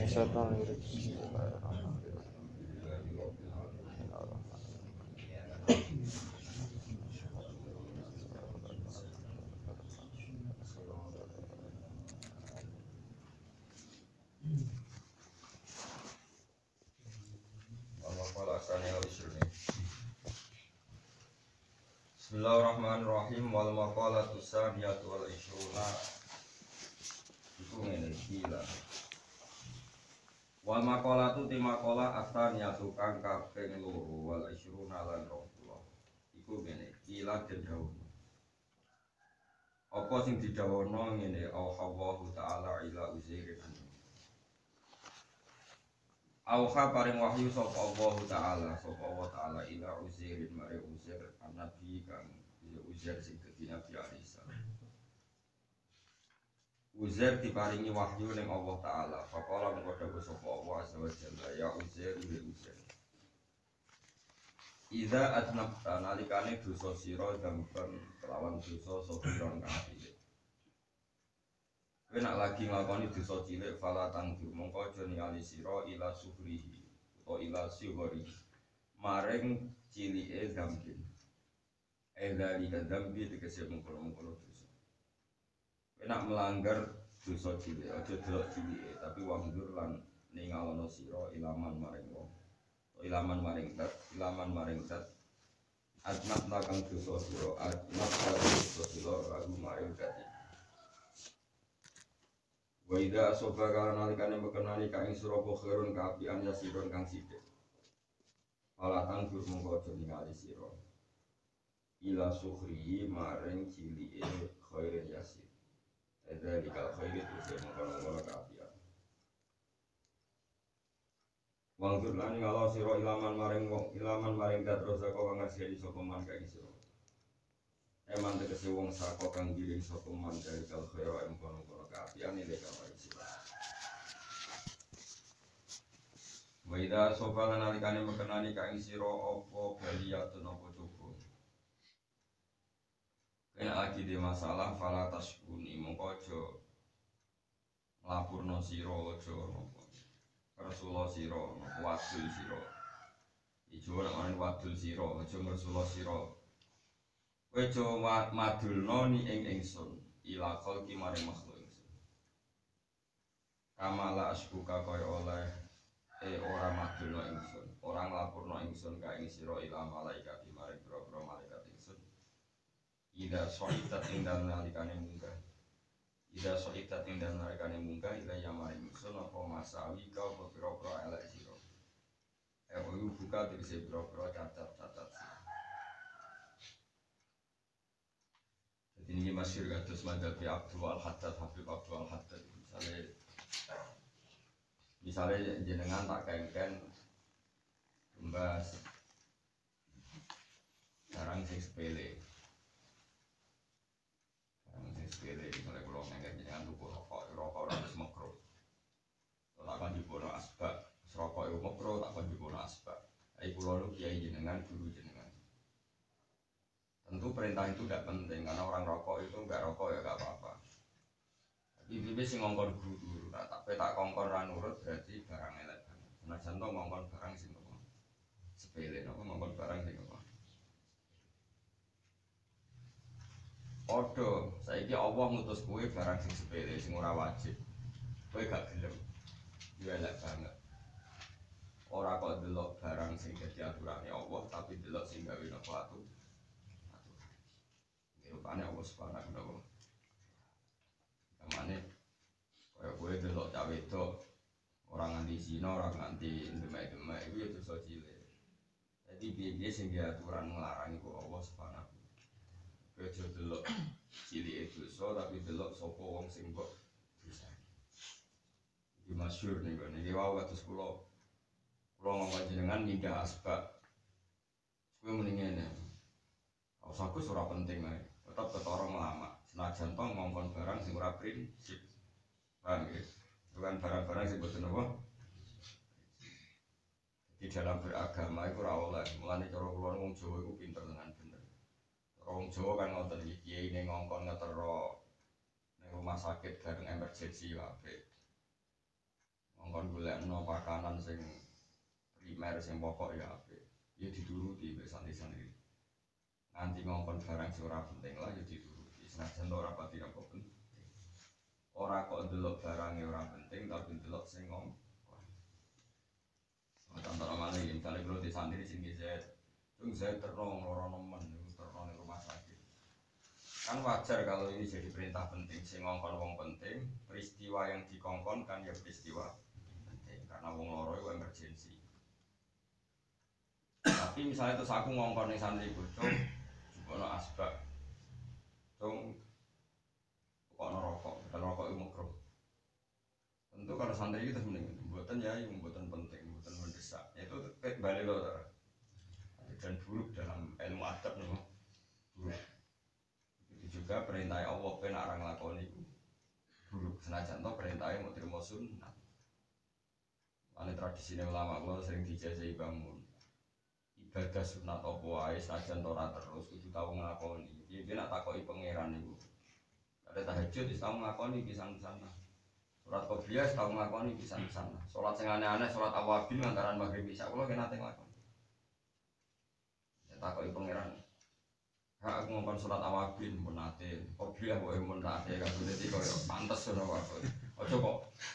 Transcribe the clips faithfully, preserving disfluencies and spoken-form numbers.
syaitonir rajim. Bismillahirrahmanirrahim. Bismillahirrahmanirrahim. Wal maqalatu saniyatu wal ishruna iku ngene gila. Wal maqalatu ti maqalah asaniyatu kang kaping loro wal ishruna lan rong puluh. Iku ngene gila den dawuh. Apa sing didhawuhna ngene Allahu ta'ala ila Uzairin. Auha paring wahyu sapa Allah taala sapa Allah taala ila Uzairin mare Uzair nabi kang Uzair sing dadi nabi Isa. Uzair diparingi wahyu ning Allah taala. Faqala mengko dawuh sapa Allah azza wa jalla ya Uzair ya Uzair. Iza adnabta nalikane dosa sira dampen kelawan dosa sofiron kang cilik. Kowe nak lagi nglakoni dosa cilik fala tangdur mongko aja ningali sira ila suhrihi utawa ila suhri maring cilike dambin. Endali kadambi tegese mengkono-mengkono dosa. Kowe nak melanggar dosa cilik aja delok cilike tapi wangdur lan ningalono sira ilaman maring wong. Ilaman maring dat, ilaman maring dat. Adnat lakang dosa sira, adnat dosa sira lagu maring dat. Wa idza asoba kana nalikane mekenani ka ing sira khairun kaapian ya sirun kang sithik. Falatan gur mongko aja ningali sira. Ila sukhri maring cilike khairin yasir. Ada dikal khairi terus mongko-mongko kaapian. Wangdur lan ngalo sira ilaman maring wong ilaman maring dat rosa kok ngasih sapa man ka ing sira. Eman tegese wong saka kang giring sapa man dari kal khaira em kono-kono kaapian ile kawai sira. Wa idza sofa nalikane mekenani ka ing sira apa baliyatun apa cukup. Kena lagi di masalah fala tasbuni mongko aja nglapurno sira aja napa. Rasulullah sira wadul sira. Ijo ora ana wadul sira aja Rasulullah sira. Kowe aja madulno ni ing ingsun ila khalqi maring makhluk ingsun. Kamala asbuka kaya oleh e ora madulno ingsun, ora nglapurno ingsun ka ing sira ila malaikat maring boro-boro malaikat ingsun. Ida soitat ing dalem nalikane munggah. Ida soitat ing dalem nalikane munggah ila ya maring ingsun apa masawi ka apa boro-boro elek sira. E buka tegese boro-boro cacat-cacat. Ini masyhur kados madhabi Abdul Al-Haddad Habib Abdul Al-Haddad misalnya misalnya jenengan tak kengken membahas barang sing sepele barang sing sepele misalnya kalau kengken jenengan tuku rokok rokok ora wis makruh tak kan dibono asbak rokok iku makruh tak kan dibono asbak ai kula lu kiai jenengan guru jenengan. Tentu perintah itu tidak penting karena orang rokok itu enggak rokok ya enggak apa-apa. Tapi bibi sing ngongkon guru, nah, tapi tak kongkon ra nurut berarti barang elek banget. Nah contoh ngongkon barang sing apa? Sepele napa ngongkon barang sing apa? Odo, saiki Allah ngutus kowe barang sing sepele sing ora wajib. Kowe gak gelem. Yo elek banget. Ora kok delok barang sing dadi aturane Allah tapi delok sing gawe napa atu. Rupane Allah Subhanahu wa taala. Kamane kaya kowe delok cah wedok ora nganti zina, ora nganti demek-demek iku ya dosa cilik. Dadi piye-piye sing aturan nglarang iku Allah Subhanahu wa taala. Aja delok cilike dosa tapi delok sapa wong sing kok bisa. Iki masyhur niku niki wae kados kula kula ngomong jenengan mindah asbak. Kowe muni ngene. Usahaku ora penting ae. Tetap ketorong lama senajan tong ngongkon barang sing ora prinsip paham ya bukan barang-barang sing boten apa di dalam beragama itu ora oleh mulane cara kula wong Jawa iku pinter tenan bener cara wong Jawa kan ngoten iki kiai ning ngongkon ngetero ning rumah sakit bareng emergensi wae ngongkon golekno pakanan sing primer sing pokok ya apik. Ya dituruti mbek santri-santri. Nganti ngongkon barang sing ora penting lah ya dituruti. Senajan ora pati apa penting. Ora kok ndelok barang yang ora penting tapi ndelok sing ngongkon. Contoh namanya ya, misalnya kalau di santri sini saya, cung saya terong lorong nemen, terong di rumah sakit. Kan wajar kalau ini jadi perintah penting, sing ngongkon wong penting, peristiwa yang dikongkon kan ya peristiwa penting, karena wong loro itu emergensi. Tapi misalnya terus aku ngongkon ning santri ku, cung, jukono asbak, cung, kok rokok, dan rokok itu makruh. Tentu kalau santri itu mending, buatan ya, yang buatan penting, buatan mendesak, itu balik loh, dan buruk dalam ilmu adab nih, buruk. Itu juga perintah Allah ben arang lakoni buruk senajan to perintahnya mau terima sunnah. Ane tradisi ulama kula sering dijajahi bangun. Ibadah sunat apa wae senajan to ora terus kudu tau nglakoni. Iki nek takoki pangeran niku. Ada tahajud wis tau nglakoni pisan-pisan. Salat qobliyah wis tau nglakoni pisan-pisan. Salat sing aneh-aneh salat awabin lantaran maghrib isya kula kena teng nglakoni. Ya takoki pangeran. Hak aku ngomong sholat awabin pun nate, kopiah boleh pun nate, kan sudah tiga ya pantas sudah waktu. Ojo kok,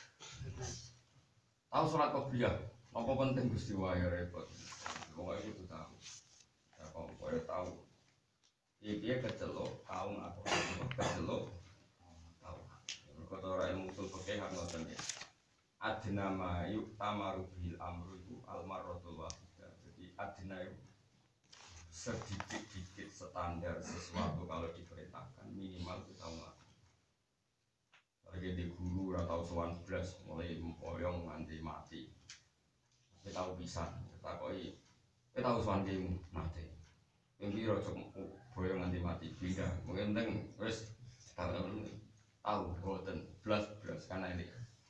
tahu sholat kopiah, apa penting gusti wahya repot. Pokoknya itu tahu, ya kok boleh tahu. Dia kecelok, tahu aku kecelok, tahu. Kalau orang ilmu usul fikih kan ngoten ya. Adna ma yuk tamaru bil amru itu almarotul wahidah. Jadi adna itu sedikit-dikit standar sesuatu kalau diperintahkan minimal kita ngelakuin. Lagi di guru atau sowan belas mulai mempoyong nanti mati. Kita tahu bisa, kita koi, kita tahu sowan game mati. Yang biro cuma boyong nanti mati beda. Mungkin penting wes tahu tahu boten belas belas karena ini.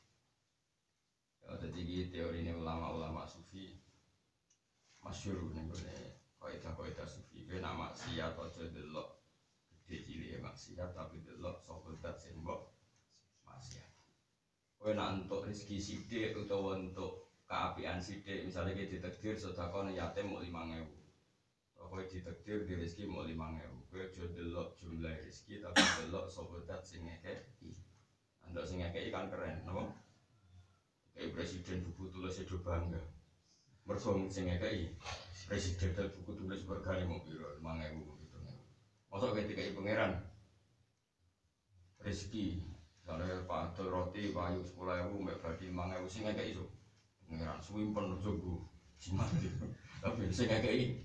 Jadi teori ini ulama-ulama sufi masyhur nih boleh. Kaidah-kaidah sufi kena maksiat aja delok gede cilik maksiat tapi delok sapa zat sing mbok maksiat. Kowe nek entuk rezeki sithik utawa entuk keapian sithik, misale iki ditakdir sedekah yatim mok lima ewu. Kowe ditakdir di rezeki mok lima ewu. Kowe aja delok jumlah rezeki tapi delok sapa zat sing ngekeki. Andok sing ngekeki kan keren, napa? Kayak presiden buku tulis itu bangga. Mergo sing ngekeki presiden dan buku tulis bergani mau biro lima ewu gitu. Masuk ketika ibu pangeran rezeki, misalnya pak roti payu sepuluh ewu, mbak badi lima ewu sih nggak kayak itu. Pangeran swimpen jogo jimat gitu. Tapi sih nggak kayak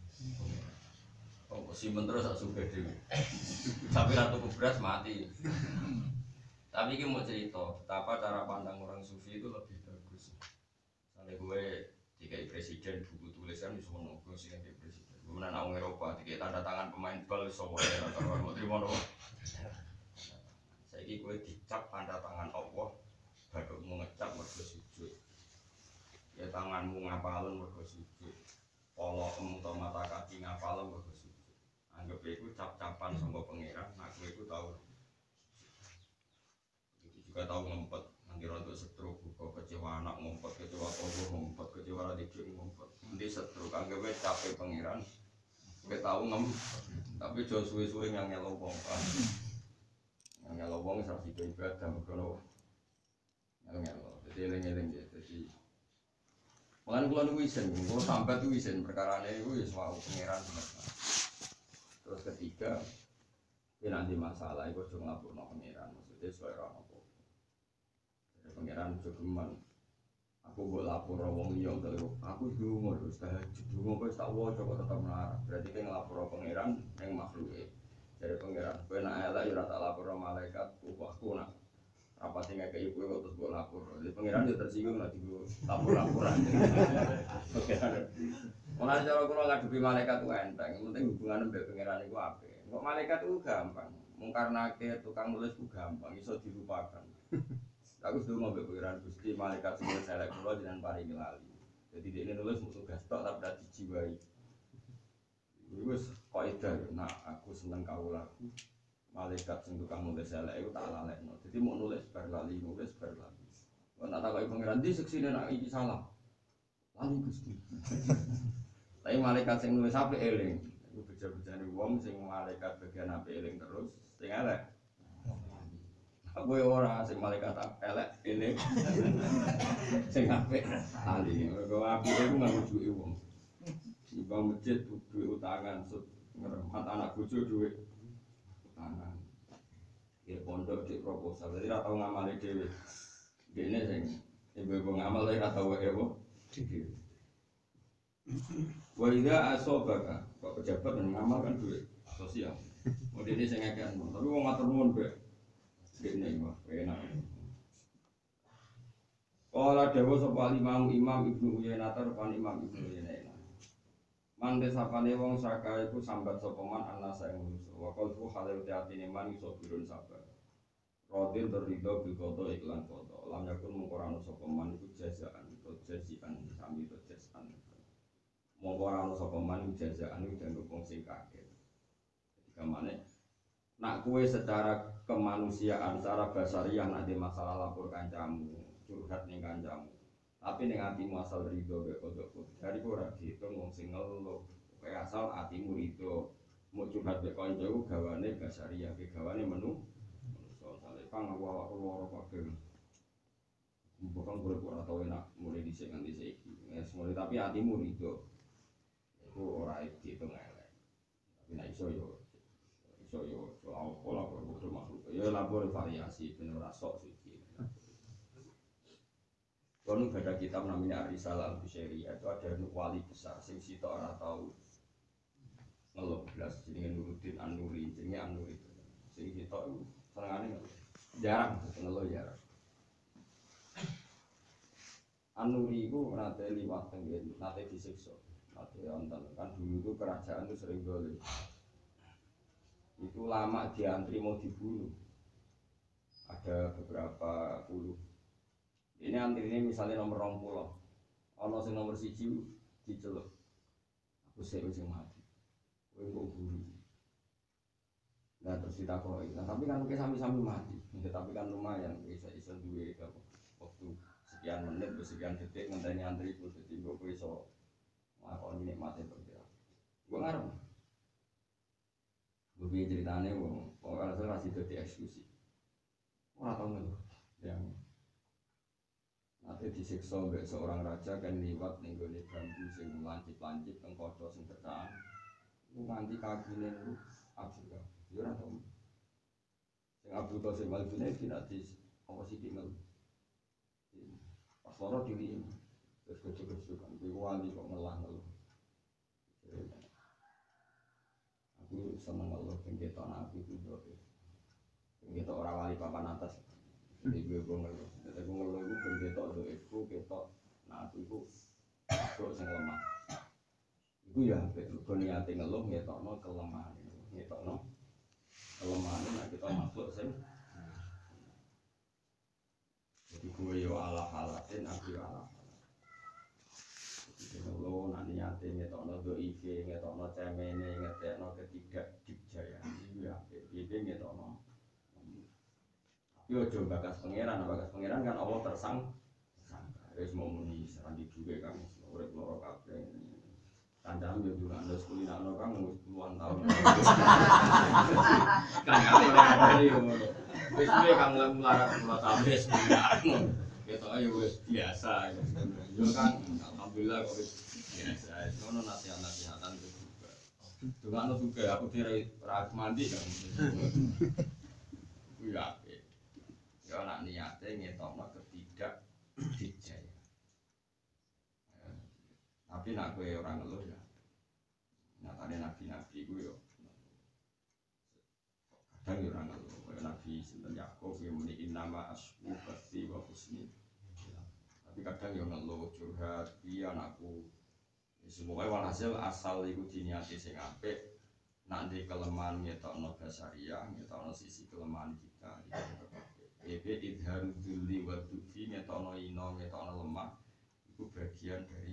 oh si menteri tak suka deh. Tapi ratu beras mati. Tapi ini mau cerita betapa cara pandang orang sufi itu lebih bagus. Misalnya gue tiga presiden buku tulisan di semua nongkrong sih tiga presiden. Kemudian orang Eropa tiga tanda tangan pemain bal semua ya kalau mau terima dong. Saya ini gue dicap tanda tangan Allah, baru mau ngecap mergo sujud. Ya tanganmu ngapalun mergo sujud. Polokmu atau mata kaki ngapalun mergo sujud. Anggap itu cap-capan sama pangeran. Aku itu tahu. Itu juga tahu ngempet. Nanti rontok stroke, buka kecewa anak ngumpet, kecewa togo ngumpet, kecewa adik ngumpet. Nanti stroke, anggapnya capek pengiran. Gue tahu ngem, tapi jauh suwe-suwe yang ngelong wong kan. Yang ngelong wong salah satu ibadah, kalau ngelong-ngelong. Jadi eling-eling ya, jadi malah kalau nunggu isen, kalau sampai tuh isen perkara ini gue semua pengiran sebenarnya. Terus ketiga, ini nanti masalah, gue cuma ngapur no pengiran, maksudnya sesuai orang apa. Pangeran jogeman aku buat lapor wong liya kalau aku dungo terus tahajud dungo kok tak waca kok tetep melarat berarti kan nglapor pangeran ning makhluke dari pangeran kowe nek elek ya ora tak lapor malaikat upahku nak rapati ngekeki kowe kok terus mbok lapor jadi pangeran yo tersinggung nek digo lapor-laporan ora cara kula ngadepi malaikat ku enteng penting hubungan mbek pangeran iku apik kok malaikat ku gampang mungkarnake tukang nulis ku gampang iso dilupakan. Aku sudah mau berpikiran Gusti malaikat semua selek kula jenengan paringi lali. Jadi dia nulis musuh tugas tok tapi ora dijiwai. Wis kaidah nak aku seneng kawulaku. Malaikat sing tukang nulis selek iku tak lalekno. Jadi mau nulis bar lali nulis bar lali. Kok tak takoki pangeran di seksine nak iki salah. Lali Gusti. Tapi malaikat sing nulis apik eling. Iku beja-bejane wong sing malaikat bagian apik eling terus sing elek. Aku ora sing malaikat elek eling. Sing apik lali. Mergo apike ku nganggo duwe wong. Ibang masjid duwe utangan sut ngremat anak bojo duwe utangan. Ya pondok di proposal. Jadi ora tau ngamali dhewe. Dene sing ibu-ibu ngamal ora tau wae apa. Wa idza asobaka, kok pejabat dan ngamal kan duit sosial. Modene sing ngekek, tapi wong matur nuwun bae. Dene wah enak. Kala dewa sapa imam Imam Ibnu Uyainah pan Imam Ibnu Uyainah. Mante sapane wong saka iku sambat sapa man ana saeng manusa. Wa qalbu halal atine man iso birun sabar. Rodin berridho bil qada iklan qada. Lam yakun mungkorano sapa man iku jazaan to jazian sami to jazaan. Mungkorano sapa man jazaan iku dianggep wong sing kaget. Ketika mane nak kue secara kemanusiaan, secara basariah nak di masalah lapor kancamu, curhat ning kancamu. Tapi ning atimu asal ridho mek qada. Dari ora diitung wong sing ngeluh. Kayak asal atimu ridho. Mau curhat mek kancamu gawane basariah, gawane menu Kang aku awak loro kabeh. Bukan boleh ora tau enak mulai dhisik nganti saiki. Wis mulai tapi atimu rido. Iku ora diitung elek. Tapi nek iso yo iso yo soal pola berbuat makhluk. Ya labor variasi ben ora sok suci. Kono ada kitab namanya Ar-Risalah Al-Bushairi itu ada wali besar sing sitok ora tau ngeluh blas jenenge Nuruddin An-Nuri, jenenge An-Nuri. Sing sitok iku senengane ngeluh. Jarang ngeluh jarang. An-Nuri itu nate liwat tenggen, nate disiksa, nate onten. Kan dulu itu kerajaan itu sering dolim. Itu lama diantri mau dibunuh. Ada beberapa puluh. Ini antri ini misalnya nomor rong puluh. Ono sing nomor siji diceluk. Aku sewa sing mati. Kowe kok buru. Nah terus ditakoi. Nah tapi kan mungkin sami-sami mati. Ya, tapi kan lumayan bisa iso duwe waktu sekian menit, sekian detik ngenteni antri itu dadi mbok kowe iso nglakoni nikmate pengira. Gua ngarep. Gue piye ceritane wong ora masih dadi eksekusi. Ora tau ngono. Yang nanti disiksa mbek seorang raja kan liwat ning gone bambu sing lancip-lancip teng kaca sing bertahan. Ku nganti kakine niku abjur. Yo ora tau. Sing Abdul Qasim Al-Junaidi nanti apa sih tinggal pas loro diri terus kecil-kecil kan gue wali kok ngelah ngeluh aku seneng ngeluh penggetok nabi itu penggetok orang wali papan atas jadi gue gue ngeluh jadi gue ngeluh itu penggetok itu ketok nabi itu kok sing lemah itu ya gue niati ngeluh ngetokno kelemahan ngetokno kelemahan nah kita makhluk sing jadi gue yo ala halatin aku yo ala jadi lo nanti nyate ngetokno do I G ngetokno cemene ngetekno ketidak dikjaya itu ya itu ngetokno yo coba bakas pangeran bakas pangeran kan Allah tersang wis mau muni serandi duwe kang urip loro kabeh kancam yo juga ndos kulinano kang wis puluhan tahun kan ada yo wis piye kang melarat kula tabes ketok ayo wis biasa yo kan alhamdulillah kok wis biasa ono nasihat-nasihatan juga dongakno juga aku dire ora mandi kan ku ya yo nak niate ngetokno ketidak dijaya tapi nak kowe ora ngeluh ya nyatane nabi-nabi ku yo kadang yo ora ngeluh kaya nabi sinten Yakub yang muni innama asbu basti wa husni tapi kadang yo ngeluh curhat piye anakku semoga walhasil asal iku diniati sing apik nak ndek kelemahan ngetokno basariah ngetokno sisi kelemahan kita iki idharu dzulli wa dufi ngetokno ino ngetokno lemah iku bagian dari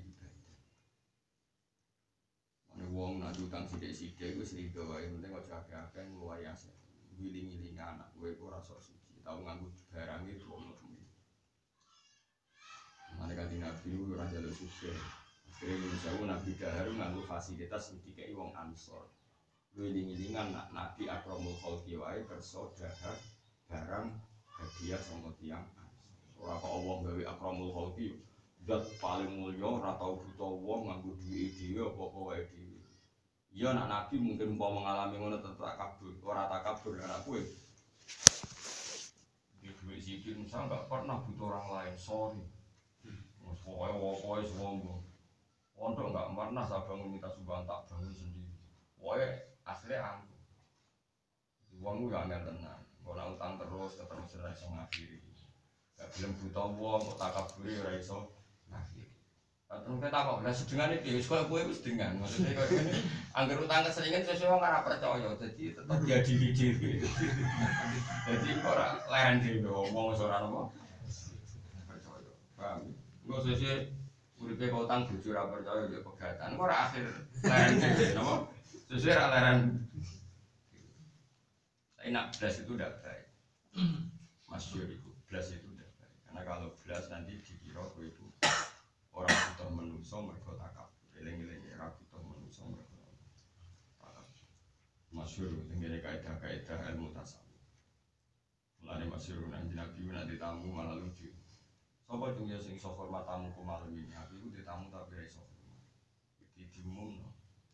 ana wong nak utang sithik-sithik wis rido wae penting aja akeh-akeh ngluwayase wiling-wiling anak kowe ora sok suci tau nganggo barang iki wong Nanti kanjeng Nabi itu orang jalur suge. Akhirnya Ibnu Jauh Nabi Dahar nganggo fasilitas dikai wong Ansor. Wiling-wilingan nak Nabi Akramul Khalqi wae kersa dahar barang hadiah sangka tiyang Ansor. Ora kok wong gawe Akramul Khalqi zat paling mulya ora tau buta wong nganggo duwike dhewe apa-apa wae dhewe. Iya nak Nabi mungkin umpama mengalami ngono tetep kabur, ora takabur anak kowe. Di duit sikit misal enggak pernah butuh orang lain, sorry. Wes pokoke pokoke sombong. Pondok enggak pernah saya bangun minta sumbangan tak bangun sendiri. Pokoke asli aku. Uangku gak angel tenan. Kok nak utang terus terus ora iso ngakhiri. Gak gelem buta wong kok takabure ora iso ngakhiri. Terus kita kok lah sedengan iki wis koyo kowe wis sedengan. Maksudnya koyo ngene angger utang keseringan sesuai wong ora percaya dadi tetep diadili dhewe. Dadi ora leren dhewe wong wis ora napa percaya. Paham? Engko sesuk uripe kok utang bojo ora percaya yo pegatan. Engko ora akhir leren dhewe napa? Sesuk ora leren. Enak belas itu udah baik. Masyhur itu belas itu udah baik. Karena kalau belas nanti dikira kowe itu orang butuh menungso mergo takabur. Eling-eling ora butuh menungso mergo takabur. Masyhur tengene kaidah-kaidah ilmu tasawuf. Mulane masyhur nang Nabi nanti tamu malah lucu. Sapa cung ya sing iso hormat tamuku malam ini? Aku iku ditamu tapi ora iso hormat. Iki diumumno.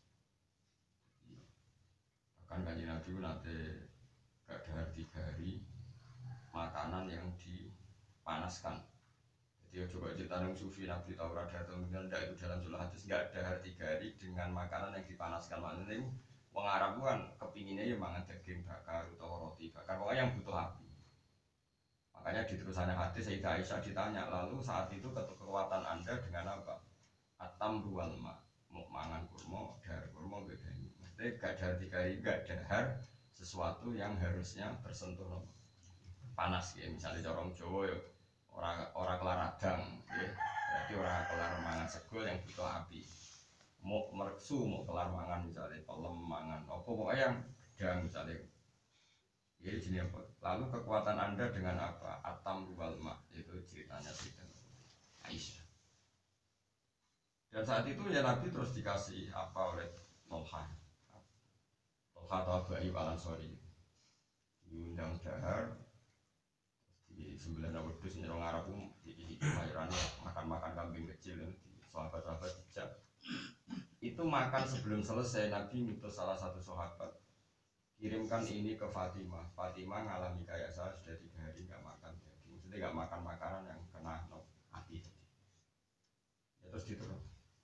Bahkan kanjeng Nabi nanti gak dahar tiga hari makanan yang dipanaskan. Jadi coba cerita yang sufi Nabi Taurat datang tidak itu dalam surah hadis nggak dahar tiga hari dengan makanan yang dipanaskan. Maknanya itu wong Arab kan kepinginnya ya mangan daging bakar atau roti bakar, pokoknya yang butuh api. Makanya di terusannya hadis Sayyidah Aisyah ditanya, lalu saat itu kekuatan Anda dengan apa? Atam ruwal ma, mau mangan kurma, dahar kurma beda ini. Maksudnya gak dahar tiga hari, gak dahar sesuatu yang harusnya tersentuh no, panas ya. Misalnya corong Jawa ya orang orang kelar radang ya. Berarti orang kelar mangan segol yang butuh api. Mau mereksu, mau kelar mangan misalnya pelem mangan apa pokoknya yang gedang misalnya. Ya jenis apa? Lalu kekuatan Anda dengan apa? Atam wal ma, itu ceritanya Sayyidah Aisyah. Dan saat itu ya Nabi terus dikasih apa oleh Tolha. Tolha atau Abu Ayyub Al-Ansari. Diundang dahar di sembilan wedhus nyerong Arab di mayorannya makan-makan kambing kecil di sahabat-sahabat dijak. Itu makan sebelum selesai Nabi ngutus salah satu sahabat, kirimkan ini ke Fatimah. Fatimah ngalami kayak saya sudah tiga hari nggak makan daging, maksudnya nggak makan makanan yang kena no, api. Ya, terus diterus.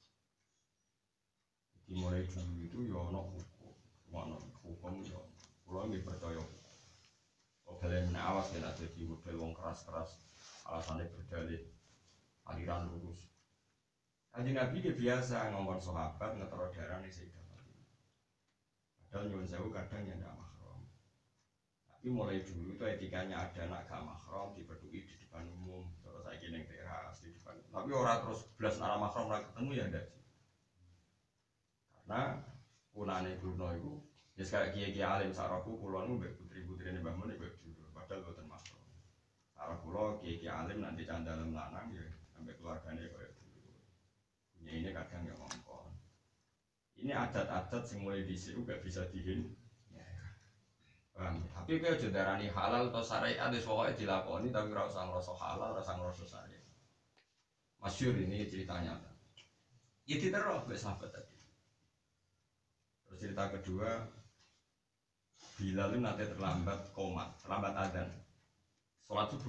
Dimulai dulu itu ya no hukum, no hukum ya. Kalau nggak percaya, kalau kalian awas ya nak jadi model wong keras-keras, alasannya berdalih aliran lurus. Kanjeng Nabi dia biasa ngomong sahabat ngetero darah nih Sayyidah Fatimah. Padahal nyuwun sewu kadang ya ndak mahram. Tapi mulai dulu itu etikanya ada anak gak mahram dipeduli di depan umum. Terus saya kira teras di depan. Tapi orang terus belas arah mahram ora ketemu ya ndak sih. Karena kunane Bruno itu ya kayak kiai-kiai alim saraku kulon mbek putri-putrine Mbah Mun mbek dulu. Padahal boten mahram. Sarah kula kiai-kiai alim nanti candalem lanang ya sampai keluargane koyo ya ini kadang ya ngomong. Ini adat-adat yang mulai disitu gak bisa dihin. Ya, paham? Tapi kalau jendarani halal atau syariat itu pokoknya dilakoni tapi rasa ngerasa halal, rasa ngerasa syariat. Masyhur ini ceritanya. Ya diterus oleh sahabat tadi. Terus cerita kedua, Bilal itu nanti terlambat koma, terlambat adzan, sholat subuh.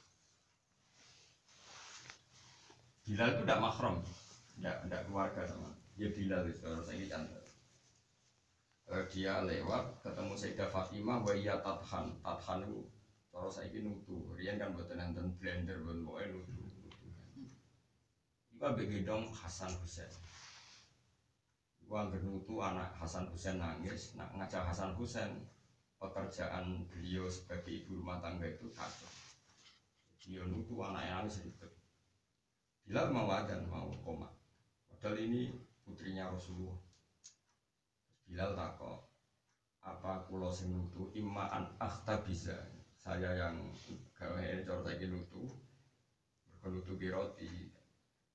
Bilal itu tidak mahram. Tidak, tidak keluarga sama dia Bilal itu harus ini cantik. Dia lewat ketemu Sayyidah Fatimah wa iya tathan tathan itu terus saya ini nutu rian kan buatan nonton blender buat mau nutu nutu juga begedong Hasan Husain gua nutu anak Hasan Husain nangis nak ngajak Hasan Husain pekerjaan beliau sebagai ibu rumah tangga itu kacau. Dia nutu anaknya nangis itu Bilal mau adzan mau koma. Padahal ini putrinya Rasulullah. Bilal takok, apa kulo sing nutu immaan akhtabiza. Saya yang gawe cara saiki nutu. Mergo nutu ki roti,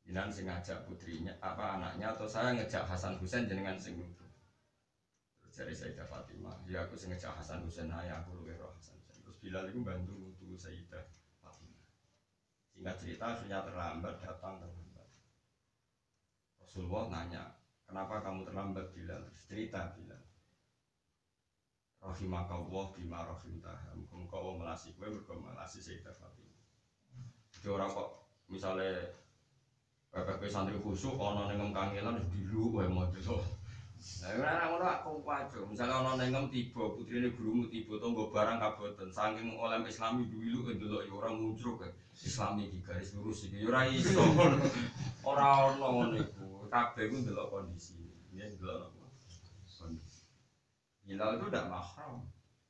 Jenengan sing ngajak putrinya apa anaknya atau saya ngejak Hasan Husain jenengan sing nuduh. Terus dari Sayyidah Fatimah, ya aku sing ngejak Hasan Husain ae aku luwih roh Hasan Husain. Terus Bilal itu bantu nuduh Sayyidah Fatimah. Singkat cerita sudah terlambat datang terlambat. Rasulullah nanya, kenapa kamu terlambat Bilal? Terus cerita Bilal. Rahimakallah bima rahimtah. Muga-muga Allah melasi kowe mergo melasi Sayyidah Fatimah. Jadi orang kok misalnya P P P santri khusuk, ana ning kangelan wis dilu wae maca. Lah ora ngono aku wajo. Misale ana ning tiba putrine gurumu tiba tanggo barang kaboten saking oleh Islami duwilu ndelok ya ora muncul Islami iki garis lurus iki ya ora iso. Ora ono ngono iku. Kabeh ku ndelok kondisi. Ya ndelok kondisi. Hilal itu ndak mahram.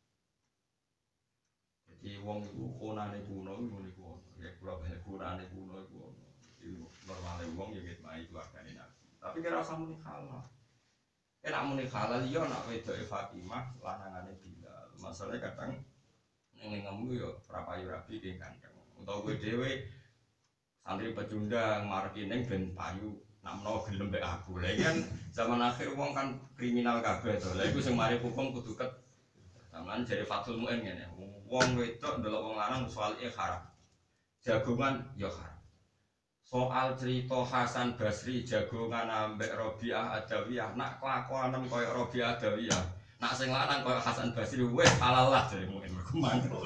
Jadi wong iku konane kuno iku niku. Ya kula banyak kunane kuno iku. Normalnya uang ya gitu, itu keluargane Nabi. Tapi kira usah muni halal. Enak muni halal yo nak wedoke Fatimah lanangane Bilal. Masalahnya kadang ning ngemu yo prapayu rabi ki kandang. Utawa kowe dhewe santri pecundang mareki ning ben payu nak menawa gelem mbek aku. Lah kan zaman akhir wong kan kriminal kabeh to. Lah iku sing mari hukum kudu ket. Sampeyan jare Fathul Muin ngene. Wong wedok ndelok wong lanang soalé haram. Jagongan yo haram. Soal cerita Hasan Basri jagongan ambek Robiah Adawiyah nak kelakuanem koyo Robiah Adawiyah nak sing lanang koyo Hasan Basri wis halal lah jare mungkin mergo mantul.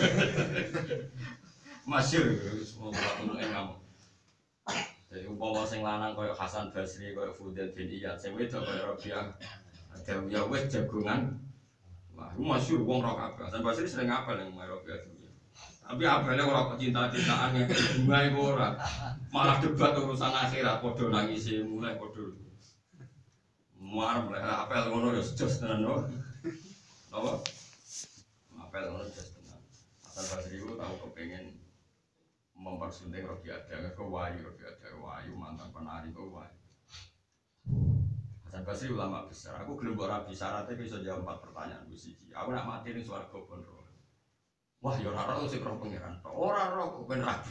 Masyhur semua mungkin kamu. Jadi umpama sing lanang koyo Hasan Basri koyo Fudail bin Iyad sing wedok koyo Robiah Adawiyah wis jagongan. Wah, iku masyhur wong ro kabeh. Hasan Basri sering apal ning Robiah Adawiyah. Tapi apalnya orang cinta-cintaan yang bunga itu orang malah debat urusan akhirat podo nangis mulai podo muar mulai apel ngono ya jos tenan no apa apel ngono jos tenan Hasan Basri itu tahu kepengen mempersunting Robi Ada ke Wayu Robi Ada Wayu mantan penari ke Wayu Hasan Basri ulama besar aku gelem ora bisa syaratnya bisa jawab empat pertanyaan wis siji aku nak mati ning swarga pun ro. Wah, ya ora ora sing roh pangeran. Ora ora kok ben rabi.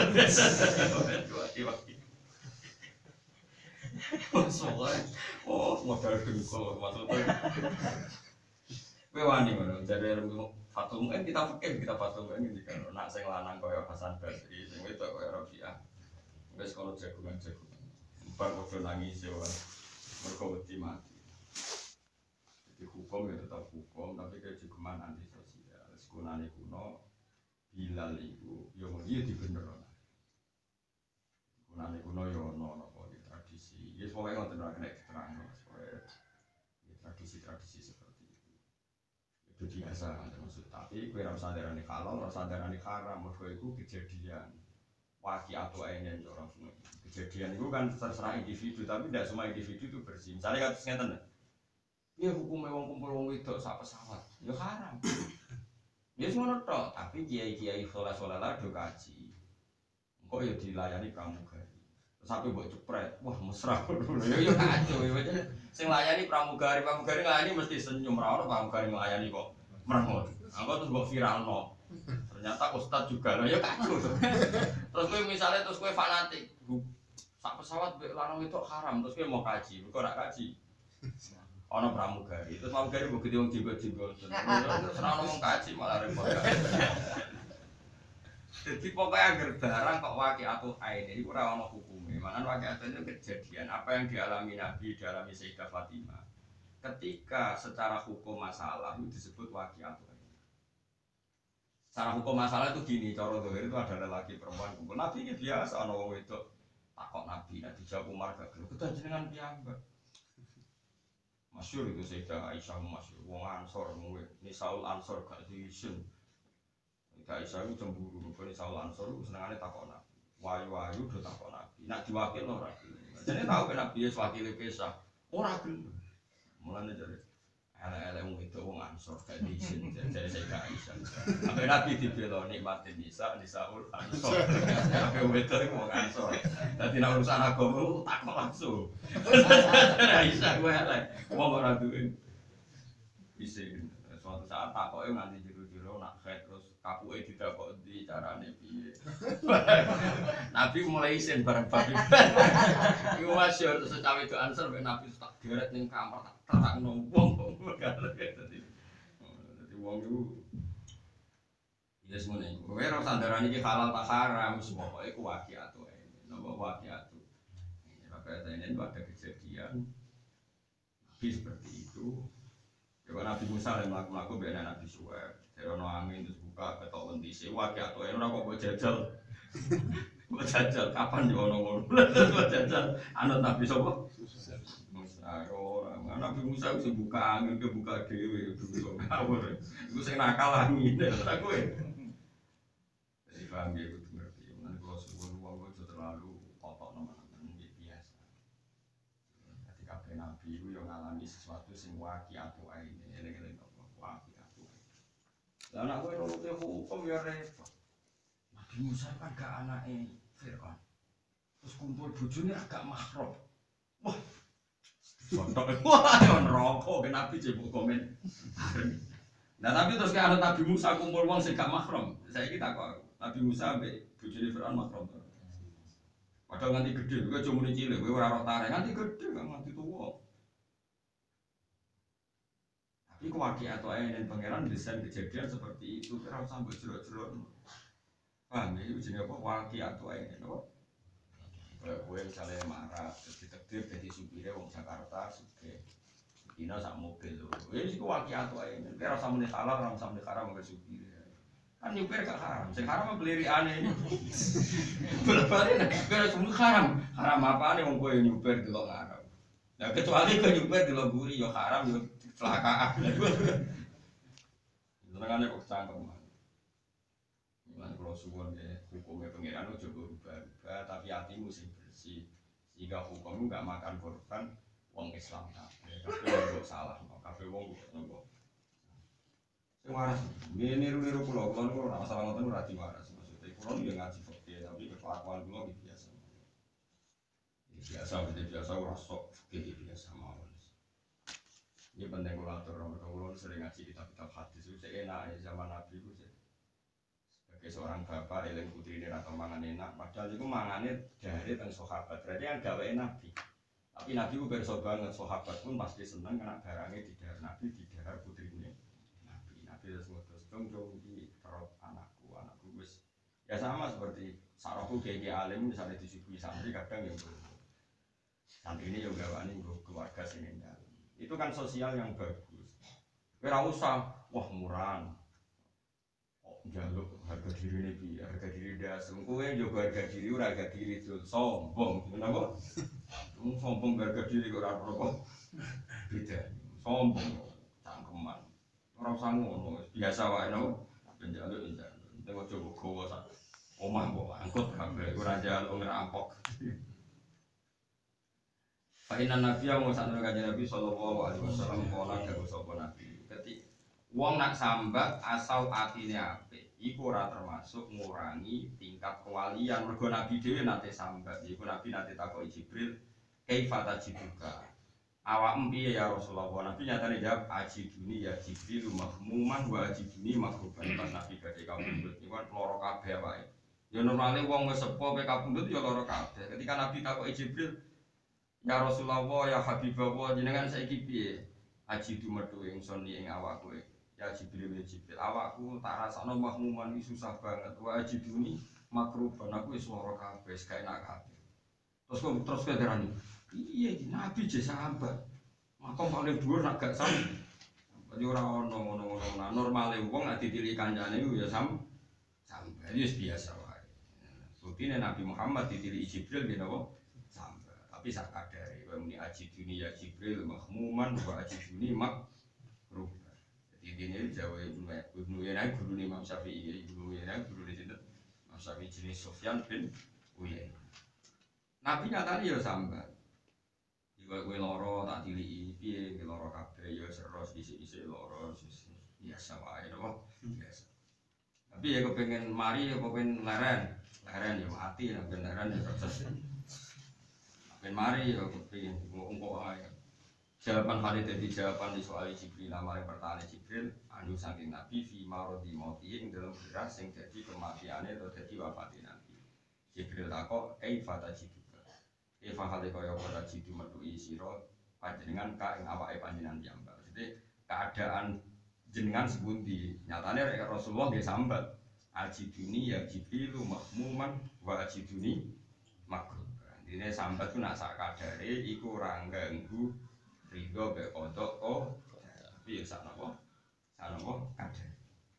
Soale oh modal dengkul maksudnya. Kowe wani ngono, jare Fatul Muin kita fikir kita Fatul Muin iki kan nak sing lanang koyo Hasan Basri, sing wedok koyo Rabi'ah. Wis kono jagungan-jagungan. Bar padha nangis yo. Mergo wedi mati. Jadi hukum ya tetap hukum, tapi kejugeman anti kunane kuno Bilal iku yo dia dibenerono. Kunane kuno yo ono napa tradisi. Ya pokoke ngoten ora kena diterangno, pokoke tradisi-tradisi seperti itu. Itu biasa maksud tapi kowe ora usah ndarani halal, ora usah ndarani haram, mergo iku kejadian. Waqi'atu ainin orang semua. Kejadian itu kan terserah individu, tapi tidak semua individu itu bersih. Misalnya kados ngeten. Ya hukumnya wong kumpul wong wedok sak pesawat, ya haram. Ya ngono tok, tapi kiai-kiai saleh-saleh lah do kaji. Engko ya dilayani pramugari. Sampai mbok cepret, wah mesra ngono. Ya ya kacau ya. Sing layani pramugari, pramugari nglayani mesti senyum ra ono pramugari nglayani kok merengut. Engko terus mbok viralno. Ternyata ustaz juga. Lah ya kacau to. Terus kowe misale terus kowe fanatik. Sak pesawat mbek lanang itu haram, terus kowe mau kaji, kok ora kaji. Ono pramugari, terus pramugari mbok gede wong jenggot-jenggot. Terus ora ono wong kaji malah repot. Jadi pokoknya agar barang kok waqi'atu ain ini ora ono hukume. Manan waqi'atu itu kejadian apa yang dialami Nabi, dialami Sayyidah Fatimah. Ketika secara hukum masalah itu disebut waqi'atu ain. Secara hukum masalah itu gini, cara zahir itu ada lelaki perempuan kumpul. Nabi ini biasa ono wong wedok takok Nabi, Nabi jawab Umar gak gelem. Kedah jenengan piyambak. Masyhur itu Sayyidah Aisyah masyhur wong Ansor muwe Nisaul Ansor gak diisin. Sayyidah Aisyah itu cemburu mergo Nisaul Ansor itu senengane takok Nabi. Wayu-wayu do takok Nabi. Nek diwakilno ora gelem. Jane tau ben Nabi wis wakile pisah. Ora gelem. Mulane jare elek-elek wong itu wong Ansor gak diisin jare Sayyidah Aisyah. Sampai Nabi dibela nikmatin Nisa Nisaul Ansor. Sampai wong itu wong Ansor. Dadi nek urusan agama takok langsung. Aisyah gue elek, wong ora duwe isin. Suatu saat takoke nganti jero-jero nak khet terus kapuke didakok ndi carane piye. Nabi mulai isin bareng babi. Iku masyhur terus cawe do answer mek Nabi tak geret ning kamar tak terangno wong. Dadi dadi wong iku ya semuanya. Kowe ora sandaran iki halal tak haram semua pokoke ku waqiatu ae. Napa waqiatu. Maka ini itu ada kejadian Nabi seperti itu. Kalau Nabi Musa yang melakukan biar Nabi Suhaib, terono angin terus buka ketok wentise, wakil atau yang orang kok jajal, kok jajal kapan di ono ngono, kok jajal, anut Nabi Sopo, Musa orang, Nabi Musa bisa buka angin, ke buka dewi, itu ngawur, itu saya nakal angin, aku ya, jadi paham ya itu ngerti, nanti kalau subuh uang itu terlalu kotor teman-teman biasa, ketika Nabi itu yang ngalami sesuatu sing waqiatu aine. Lah anak kowe nurute hukum ya repot. Nabi Musa kan gak anake Firaun. Terus kumpul bojone agak mahram. Wah. Sontok wah yo neraka ke Nabi jebuk komen. Nah tapi terus ke anut Nabi Musa kumpul wong sing gak mahram. Saiki tak kok Nabi Musa ambek bojone Firaun mahram to. Padahal nganti gede, kowe cuma muni cilik, kowe ora ora tarik nganti gede kan nganti tuwa. Iku waqiatu ae ning pangeran desain kejadian seperti itu ora usah mbok jero-jero. Paham ya iki jenenge apa waqiatu ae no. Kowe misale marah terus ditakdir dadi supire wong Jakarta sugih. Dina sak mobil lho. Wis iku waqiatu ae. Ora usah muni halal, ora usah muni haram karo supire. Kan nyupir gak haram, sing haram peliriane ini. Berbalik nek kira semua haram. Haram apane wong kowe nyupir delok haram. Nah kecuali kowe nyupir delok guri ya haram ya kecelakaan. Senengane kok cangkem. Lan kula suwun nggih, hukume pangeran ojo berubah-ubah tapi atimu sing bersih. Sehingga hukum enggak makan korban wong Islam kabeh. Kabeh salah, kabeh wong nopo. Sing waras, niru-niru kula, kula niku ora masalah ngoten ora diwaras. Maksudnya kula yo ngaji fikih tapi kelakuan kula biasa. Biasa, biasa ora sok fikih biasa mawon. Ini penting kula atur, mergo kula sering ngaji kitab-kitab hadis itu enak ya zaman Nabi itu sebagai seorang bapak eling putrine ra mangan enak, padahal itu mangane dari teng sahabat. Berarti yang gawe Nabi. Tapi Nabi ku pirsa banget, sahabat pun pasti seneng kena barangnya didahar Nabi, didahar putrine Nabi. Nabi terus ngutus dong-dong iki terop anakku, anakku wis ya sama seperti sarahku kayak alim misalnya disuguhi santri kadang yang santri ini juga wani keluarga sing endah. Itu kan sosial yang bagus. Ora usah wah murahan. Kok njaluk harga diri ini piye? Harga diri dasar. Kowe njogo harga diri ora harga diri itu sombong. Kenapa? Wong sombong harga diri kok ora apa. Beda. Sombong cangkeman. Ora usah ngono, biasa wae no. Njaluk njaluk. Nek ojo gowo sak omah kok angkut kabeh ora njaluk ngerampok. Fainan Nabi yang mengusahakan kajian Nabi Sallallahu Alaihi Wasallam Kola dagu sopo Nabi. Ketik Wong nak sambat asal atine apik, iku ora termasuk ngurangi tingkat kewalian. Mergo Nabi dhewe nate sambat, iku Nabi nate takoki Jibril, "Kaifa tajiduka?" Awakmu piye ya Rasulullah? Nabi nyatane jawab, "Ajiduni ya Jibril mahmuman wa ajiduni mahruban." Pas Nabi badhe kapundhut niku kan lara kabeh wae. Ya normale wong wis sepo pe kapundhut ya lara kabeh. Ketika Nabi takoki Jibril, "Ya Rasulullah, ya Habibullah, jenengan saiki piye?" Aji du metu ingsun ing awakku. Ya Jibril ya Jibril, awakku tak rasakno mahmuman iki susah banget. Wa ajiduni makruban, aku wis lara kabeh, gak enak kabeh. Terus kok terus kedarani. Iya iki Nabi je sambat. Makom paling dhuwur nak gak sam. Jadi ora ono ngono-ngono. Nah, normale wong nek ditili kancane iku ya sam sambat. Wis biasa wae. Bukine Nabi Muhammad ditili Jibril nggih napa? Tapi sak kadare kowe muni ajiduni ya Jibril mahmuman wa ajiduni makruh. Jadi dene Jawa Ibnu Uyainah gurune Imam Syafi'i, Ibnu Uyainah gurune sinten? Imam Syafi'i jenis Sufyan bin Uyainah. Nabi nyatane ya sambat. Iku kowe lara tak tiliki piye kowe lara kabeh ya seros isik-isik lara biasa wae to, biasa. Tapi ya kepengin mari ya kepengin leren, leren ya mati nek leren ya proses. Ben mari ya kepingin ngomong ae. Jawaban hari dadi jawaban di soal Jibril amare pertanyaan Jibril anu saking Nabi fi marodi mauti ing dalam beras sing dadi kematiane atau dadi wafate Nabi. Jibril takok kaifa tajiduka. Kaifa hale kaya ora jidu metuhi sira panjenengan ka ing awake panjenengan piyambak. Jadi keadaan jenengan sepundi. Nyatane Rasulullah nggih sambat. Ajiduni ya Jibrilu mahmuman wa ajiduni makruh. Intine sambat ku nak sak kadare iku ora ganggu rido be kodok oh tapi ya sak napa? Sak napa kadare.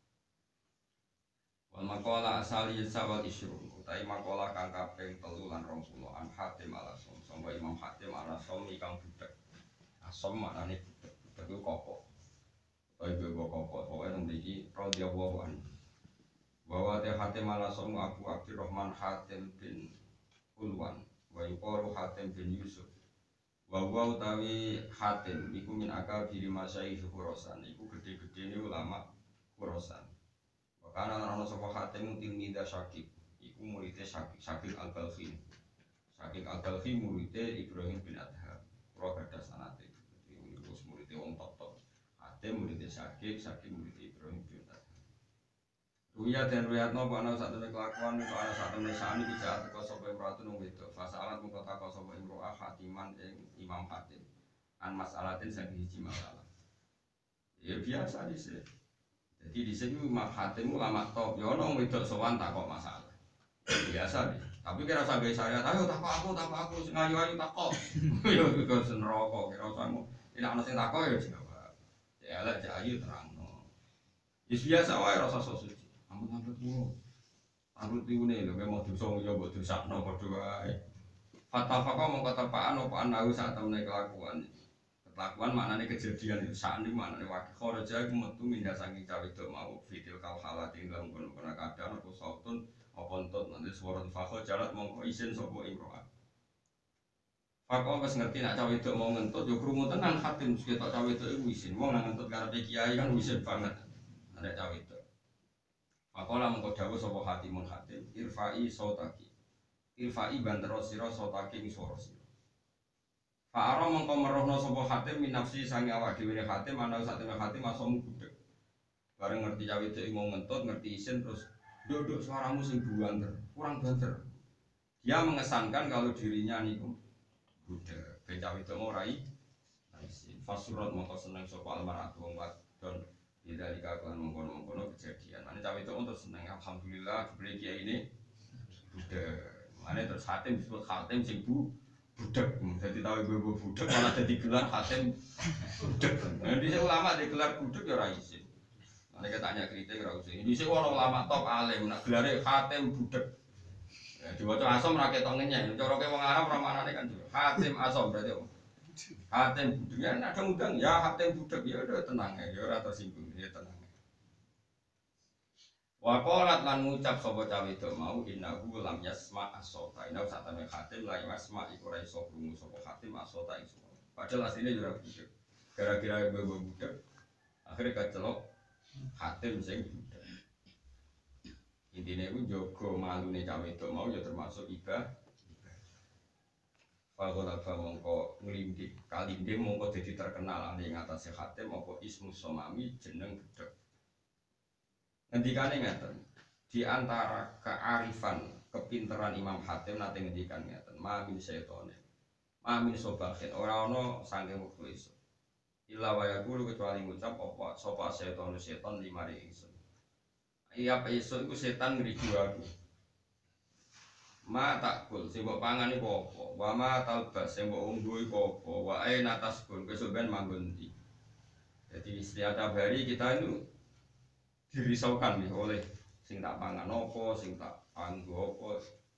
Wal maqala asali sawal isyrun utawi maqala kang kaping telu lan rong puluh an Hatim al-Asom sangga Imam Hatim al-Asom kang budak. Asom maknane budak, budak iku kopok. Utawi bebo kopok, pokoke nang mriki radhiyallahu anhu. Bahwa te Hatim al-Asom Abu Abdurrahman Hatim bin Ulwan wa yuqalu Hatim bin Yusuf. Wa wa utawi Hatim iku min akabiri masyayikh Khurasan, iku gede-gedene ulama Khurasan. Karena ana sapa Hatim tilmidha Syakib, iku muridé Syakib, Syakib Al-Balkhi. Syakib Al-Balkhi muridé Ibrahim bin Adham. Pro gadah sanate. Dadi wis muridé wong top-top. Hatim muridé Syakib, Syakib muridé Ibrahim bin Adham. Ruya dan ruyatno ana sak temene kelakuan iku ana sak temene sani bijak teko sapa imratu nang wedok. Fasalat mung kota sapa imro'ah Hatiman ing Imam Hatim. An mas'alatin sing siji masalah. Ya biasa dhisik. Jadi di sini Imam Hatim ulama top, ya orang wedok sowan takok masalah. Biasa deh. Tapi kira usah gawe saya, ayo takok aku, takok aku, sing ayu-ayu takok. Yo kok sen rokok, kira usah mu. Nek ana sing takok ya jawab. Ya elek cek ayu terangno. Wis biasa wae rasa suci. Ampun-ampun kulo. Aku tiune lho, mau dosa yo mbok dosakno padha wae. Fatafaqah mongko tepaan apa anahu sak temene kelakuan. Kelakuan maknanya kejadian itu saat ini maknanya wakil kharaja itu metu mindah saking cawe itu mau video kal halat yang dalam kono-kono keadaan aku sautun apa entut nanti suara fakho jalat mongko isin sopo imro'at fakho pas ngerti nak cawe itu mau ngentut yuk rumu tenang Hatim kita cawe itu itu isin mau ngentut karena kiai kan isin banget ada cawe itu fakho lah mongko dawa sopo Hatimun Hatim irfa'i sautaki irfa'i bandero siro sautaki miswara siro Fa'ara mengko merohno sapa Hatim min nafsi sange awak dhewe Hatim ana sak temene Hatim asom budek. Bareng ngerti cawe itu mau ngentut, ngerti isin terus nduk suaramu sing buanter, kurang banter. Dia mengesankan kalau dirinya niku budek. Ben cawe itu mau rai isin. Fasurat mengko seneng sapa almaratu wong wadon tidak dikakuan mengkono-mengkono kejadian. Mane cawe itu untuk seneng alhamdulillah dibeli kiai ini budek. Mane terus Hatim disebut Hatim sing bu budak, jadi tahu ibu-ibu budak malah jadi gelar Hatim budak. Nah, di sini ulama digelar budak ya raisin. Nanti kita tanya kritik ya raisin. Di sini orang ulama top alim, nak gelarnya Hatim budak. Ya, di bawah asom rakyat tangannya. Coroknya orang Arab ramanannya kan juga Hatim asom berarti. Hatim budak. Ya ada undang ya Hatim budak ya udah tenang ya, ya orang tersinggung ya tenang. Waqalat lan ngucap sapa cawe itu mau innahu lam yasma as-sota. Inna satane Hatim la yasma iku ora iso krungu sapa Hatim as-sota iso. Padahal asline yo ora budak. Gara-gara bebo budak. Akhire kacelok Hatim sing budak. Intine iku njaga malune cawe itu mau ya termasuk ibadah. Faqala fa mongko nglimdi kalinde mongko dadi terkenal ning atase Hatim apa ismu somami jeneng budak. Ngendikane ngeten di antara kearifan kepinteran Imam Hatim nate ngendikan ngeten mamin syaitone mamin sobahin ora ana saking mukhlis illa wa yaqulu kecuali ngucap apa sapa setan setan limari ingsun iya iso iku setan ngriku aku ma takul sing mbok pangan iku apa wa ma talbas sing mbok unggo iku apa wa aina tasbun besok ben manggon ndi. Jadi setiap hari kita itu dirisaukan nih oleh sing tak pangan apa, sing tak anggo apa.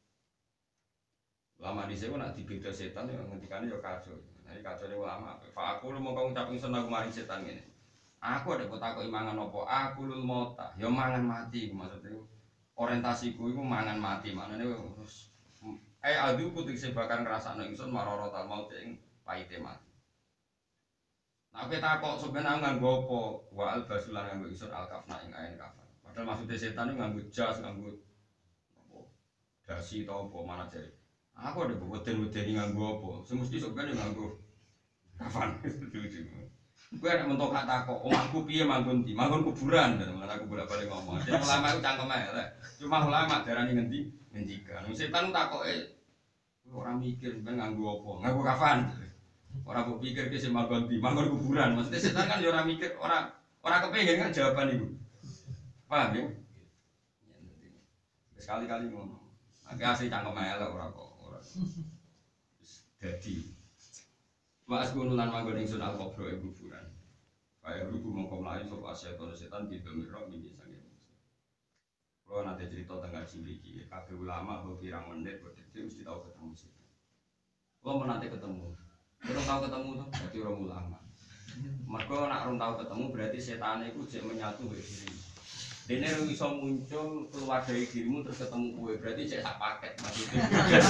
Lama di sini nak dibeda setan yang ngendikannya ya kacau. Nah ini kacau ini ulama. Pak aku lu mau kau ngucapin senang kemarin setan ini. Aku ada kota kau imangan apa? Aku lu mau tak? Ya mangan mati maksudnya. Orientasiku itu mangan mati. Mana nih? Eh adu kutik sebakan ngerasa nengson maroro tal mau ceng pahite mati. Nah kita kok sebenarnya nganggo apa? Wa al basulan nganggo isur al kafna ing ain kafan. Padahal maksudnya setan itu nganggo jas, nganggo apa? Dasi atau apa mana jadi? Aku ada weden-weden nganggo apa? Semesti sebenarnya nganggo kafan. Gue ada mentok kata kok, om aku piye manggon di, manggon kuburan dan malah aku bolak balik ngomong. Jadi ulama itu cangkem aja lah. Cuma ulama darani ngendi ngendikan. Setan takoke ora mikir ben nganggo apa? Nganggo kafan. Ora kok pikir ke sing manggon di manggon kuburan. Maksudnya setan kan ya ora mikir, ora ora kepengin kan jawaban iku. Paham ya? Sekali-kali ngono. Nek asli cangkem elek ora kok ora. Wis dadi. Wa asgunulan manggon ing sunal kubro ing kuburan. Kaya ruku mongko mlayu sapa setan setan didomiro mimpi sange. Kalau nanti cerita tentang ciri kabeh ulama atau pirang menit berarti mesti tahu ketemu setan. Kalau mau nanti ketemu, belum tahu ketemu tuh berarti orang ulama. Mereka nak orang tahu ketemu berarti setan itu cek menyatu dengan diri. Dene iso muncul keluar dari dirimu terus ketemu kue berarti cek sak paket maksudnya.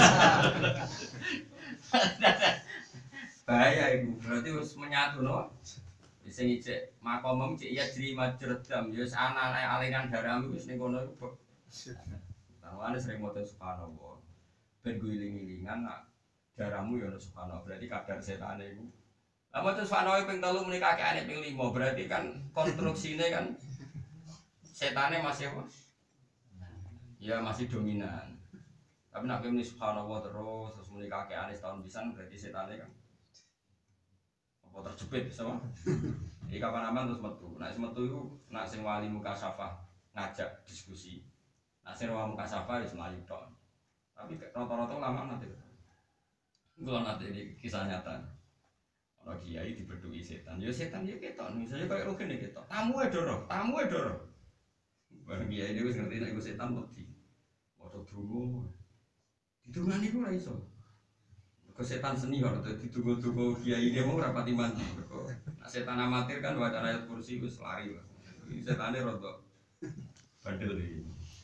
Bahaya itu berarti harus menyatu no. Sing ijek makomem cek iya jri majredam ya ana aliran darahmu wis ning kono iku. Tawane sering maca subhanallah. Ben guling-gilingan nak darahmu ya ono subhanallah berarti kadar setane iku. Lah maca subhanallah ping telu muni kakeane ping lima berarti kan konstruksine kan setane masih apa? Ya masih dominan. Tapi nak muni subhanallah terus terus muni kakeane setahun pisan berarti setane kan apa terjepit sama? Jadi kapan aman terus metu. Nak metu itu nak sing wali muka syafa ngajak diskusi. Nak sing wali muka syafa wis mlayu tok. Tapi rata-rata lama nanti. Kalau nanti ini kisah nyata. Ono kiai dibedui setan. Ya setan ya ketok. Misalnya kayak rugen ya ketok. Tamu e doro, tamu e doro. Bareng kiai dhewe wis ngerti nek iku setan wedi. Maca donga. Didungani ku ora iso. Ke setan senior atau ditunggu-tunggu kiai dia mau rapati mandi. Nah, setan amatir kan baca ayat kursi wis lari. Ini setannya rodok bandel iki.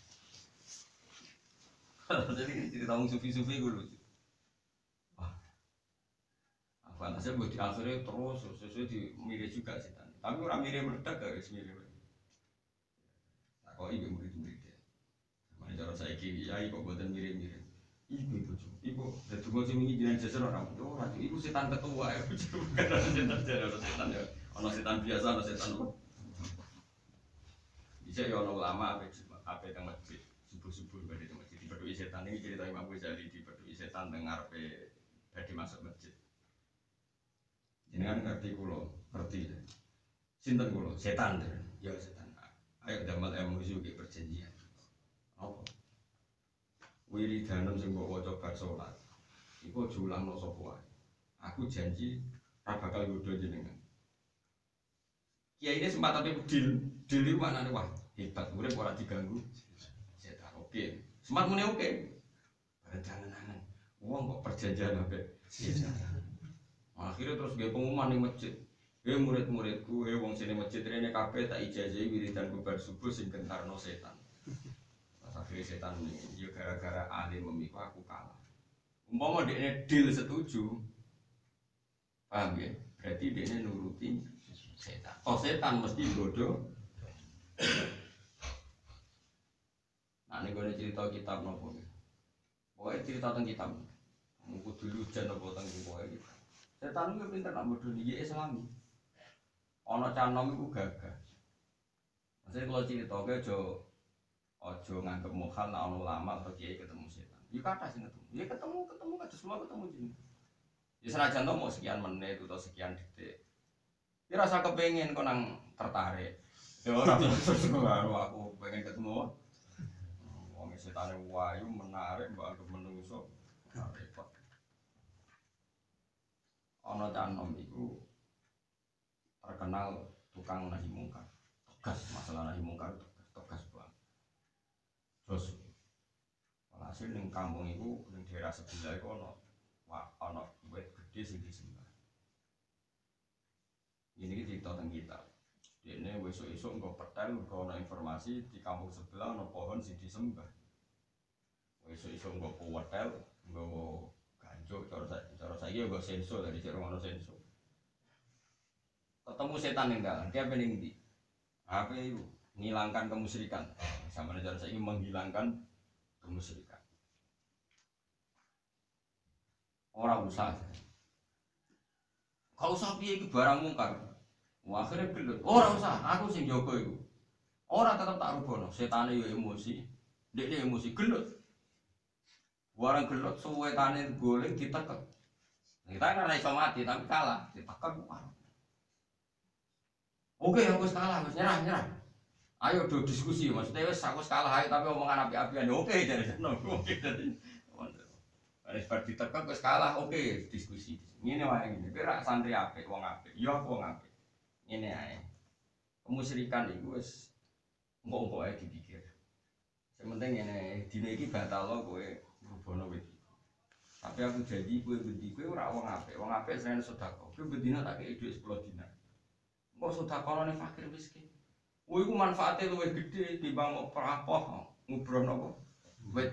Jadi cerita wong sufi-sufi gue lucu. Wah. Apa nasib buat di akhirnya terus sesuai di mirip juga setan. Tapi orang mirip meledak gak guys mirip. Nah, kok ibu murid-murid ya. Mana cara saya kiai kok buatan mirip-mirip. Ibu ibu ibu, dan tunggu sih ini jangan jasa orang itu, orang ibu setan ketua ya, bukan orang setan jadi orang setan ya, orang setan biasa orang setan apa? Bisa ya orang lama apa apa yang masjid subuh subuh berada di masjid diberdui setan ini cerita Imam Ghazali diberdui setan dengar pe berada masuk masjid. Jadi kan ngerti kulo, ngerti deh. Sinten kulo, setan deh, ya setan. Ayo damal emosi ke perjanjian. Apa? Wiridanem sing mbok waca bar salat. Iku aja ulangno sapa wae. Aku janji ora bakal nggodho jenengan. Kiai ini sempat tapi deal, deal itu maknane wah hebat, urip ora diganggu. Setan oke. Sempat muni oke. Bareng-bareng. Wong kok perjanjian ambek setan. Akhirnya terus gawe pengumuman ning masjid. Hei murid-muridku, hei wong sini masjid rene kabeh tak ijazahi wiridan bar subuh sing gentarno setan. Akhirnya setan ini, ya gara-gara alim memiku aku kalah. Umpama dia deal setuju, paham ya? Berarti dia nuruti setan. Oh setan mesti bodoh. Nah ini gue cerita kitab nopo. Pokoknya cerita tentang kitab. Mungkin dulu jangan nopo tentang pokoknya gitu. Setan itu pintar nak bodoh dia Islami. Ono canom itu gagah. Maksudnya kalau cerita gue jo ojo nganggep mukhal nak ono ulama atau kiai ketemu setan. Ya kata sih ketemu. Ya ketemu ketemu kan semua ketemu jadi. Ya senajan to mau sekian menit atau sekian detik. Ya rasa kepengen kok nang tertarik. Ya ora terus aku pengen ketemu. Wong setane wayu menarik mbok anggap menungso. Repot. Ono canom iku terkenal tukang nahi mungkar. Tegas masalah nahi mungkar tegas banget. Terus walhasil ning kampung iku ning daerah sebelah iku ana wah ana wit gedhe sing disembah. Ini cerita tentang kita. Dene esuk-esuk engko petel engko ana informasi di kampung sebelah ana pohon sing disembah. Esuk-esuk engko petel engko ganjuk cara cara saiki engko senso dari jero ana senso. Ketemu setan ning dalan, dia pening ndi? Apa itu? Menghilangkan kemusyrikan. Sama cara saya ingin menghilangkan kemusyrikan. Orang usah. Kalau usah piye iki barang mungkar. Wah akhirnya gelut. Orang usah, aku sing jaga iku. Orang tetap tak rubono. Setane yo emosi. Dek emosi gelut. Warang gelut suwe tane goleng ditekek. Kita kan iso mati tapi kalah, ditekek. Oke, aku kalah, wis nyerah, nyerah. Ayo do diskusi, maksudnya wis aku kalah ayo tapi omongan api-apian. Oke, jadi oke jadi. Wis bar ditekek wis kalah, oke, diskusi. Ngene wae ngene. Kira santri apik, wong apik. Ya aku wong apik. Ngene ae. Kemusyrikan iku wis engko-engko ae dipikir. Sing penting ngene, dina iki batal kowe rubono kowe. Tapi aku janji kowe bendi kowe ora wong apik. Wong apik sing sedekah. Kowe bendina tak kei dhuwit sepuluh dinar. Kok sedekahane fakir miskin. Kowe iku manfaate luwih gedhe timbang mau perapoh ngubrono apa? Wit.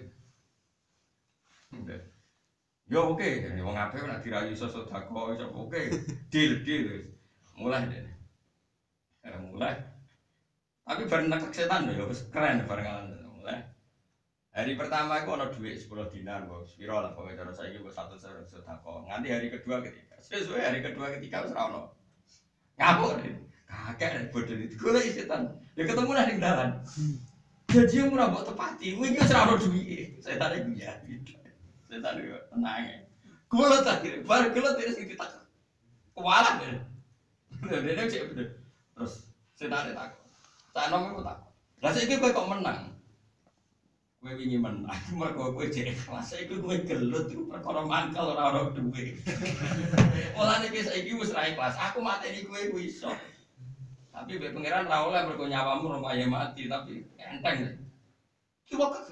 Yo oke, wong apik nek dirayu iso sedekah iso oke. Deal deal wis. Mulai dene. Eh mulai. Tapi bareng nekek setan lho wis keren barengan mulai. Hari pertama aku ana dhuwit sepuluh dinar, Bos. Piro lah pokoke cara saiki wis satu sedekah. Nganti hari kedua ketiga. Sesuai hari kedua ketiga wis ora ono. Ngapuk deh. Kakek bodoh itu golek setan. Ya ketemu lah ning dalan. Janji ora mbok tepati. Kuwi iki wis ora ono dhuwit. Setan iku ya. Setan iku tenang. Golek akhire bar golek terus ditak. Kuwalah deh. Dene cek bener. Terus setan tak. Tak nomor tak. Lah saiki kowe kok menang. Kowe wingi menang, mergo kowe jek ikhlas. Saiki kowe gelut iku perkara mangkel ora ono dhuwit. Mulane iki saiki wis ra ikhlas. Aku mateni kowe ku iso. Tapi mbek pangeran ra oleh mergo nyawamu rumaye mati, tapi enteng. Ki wakak.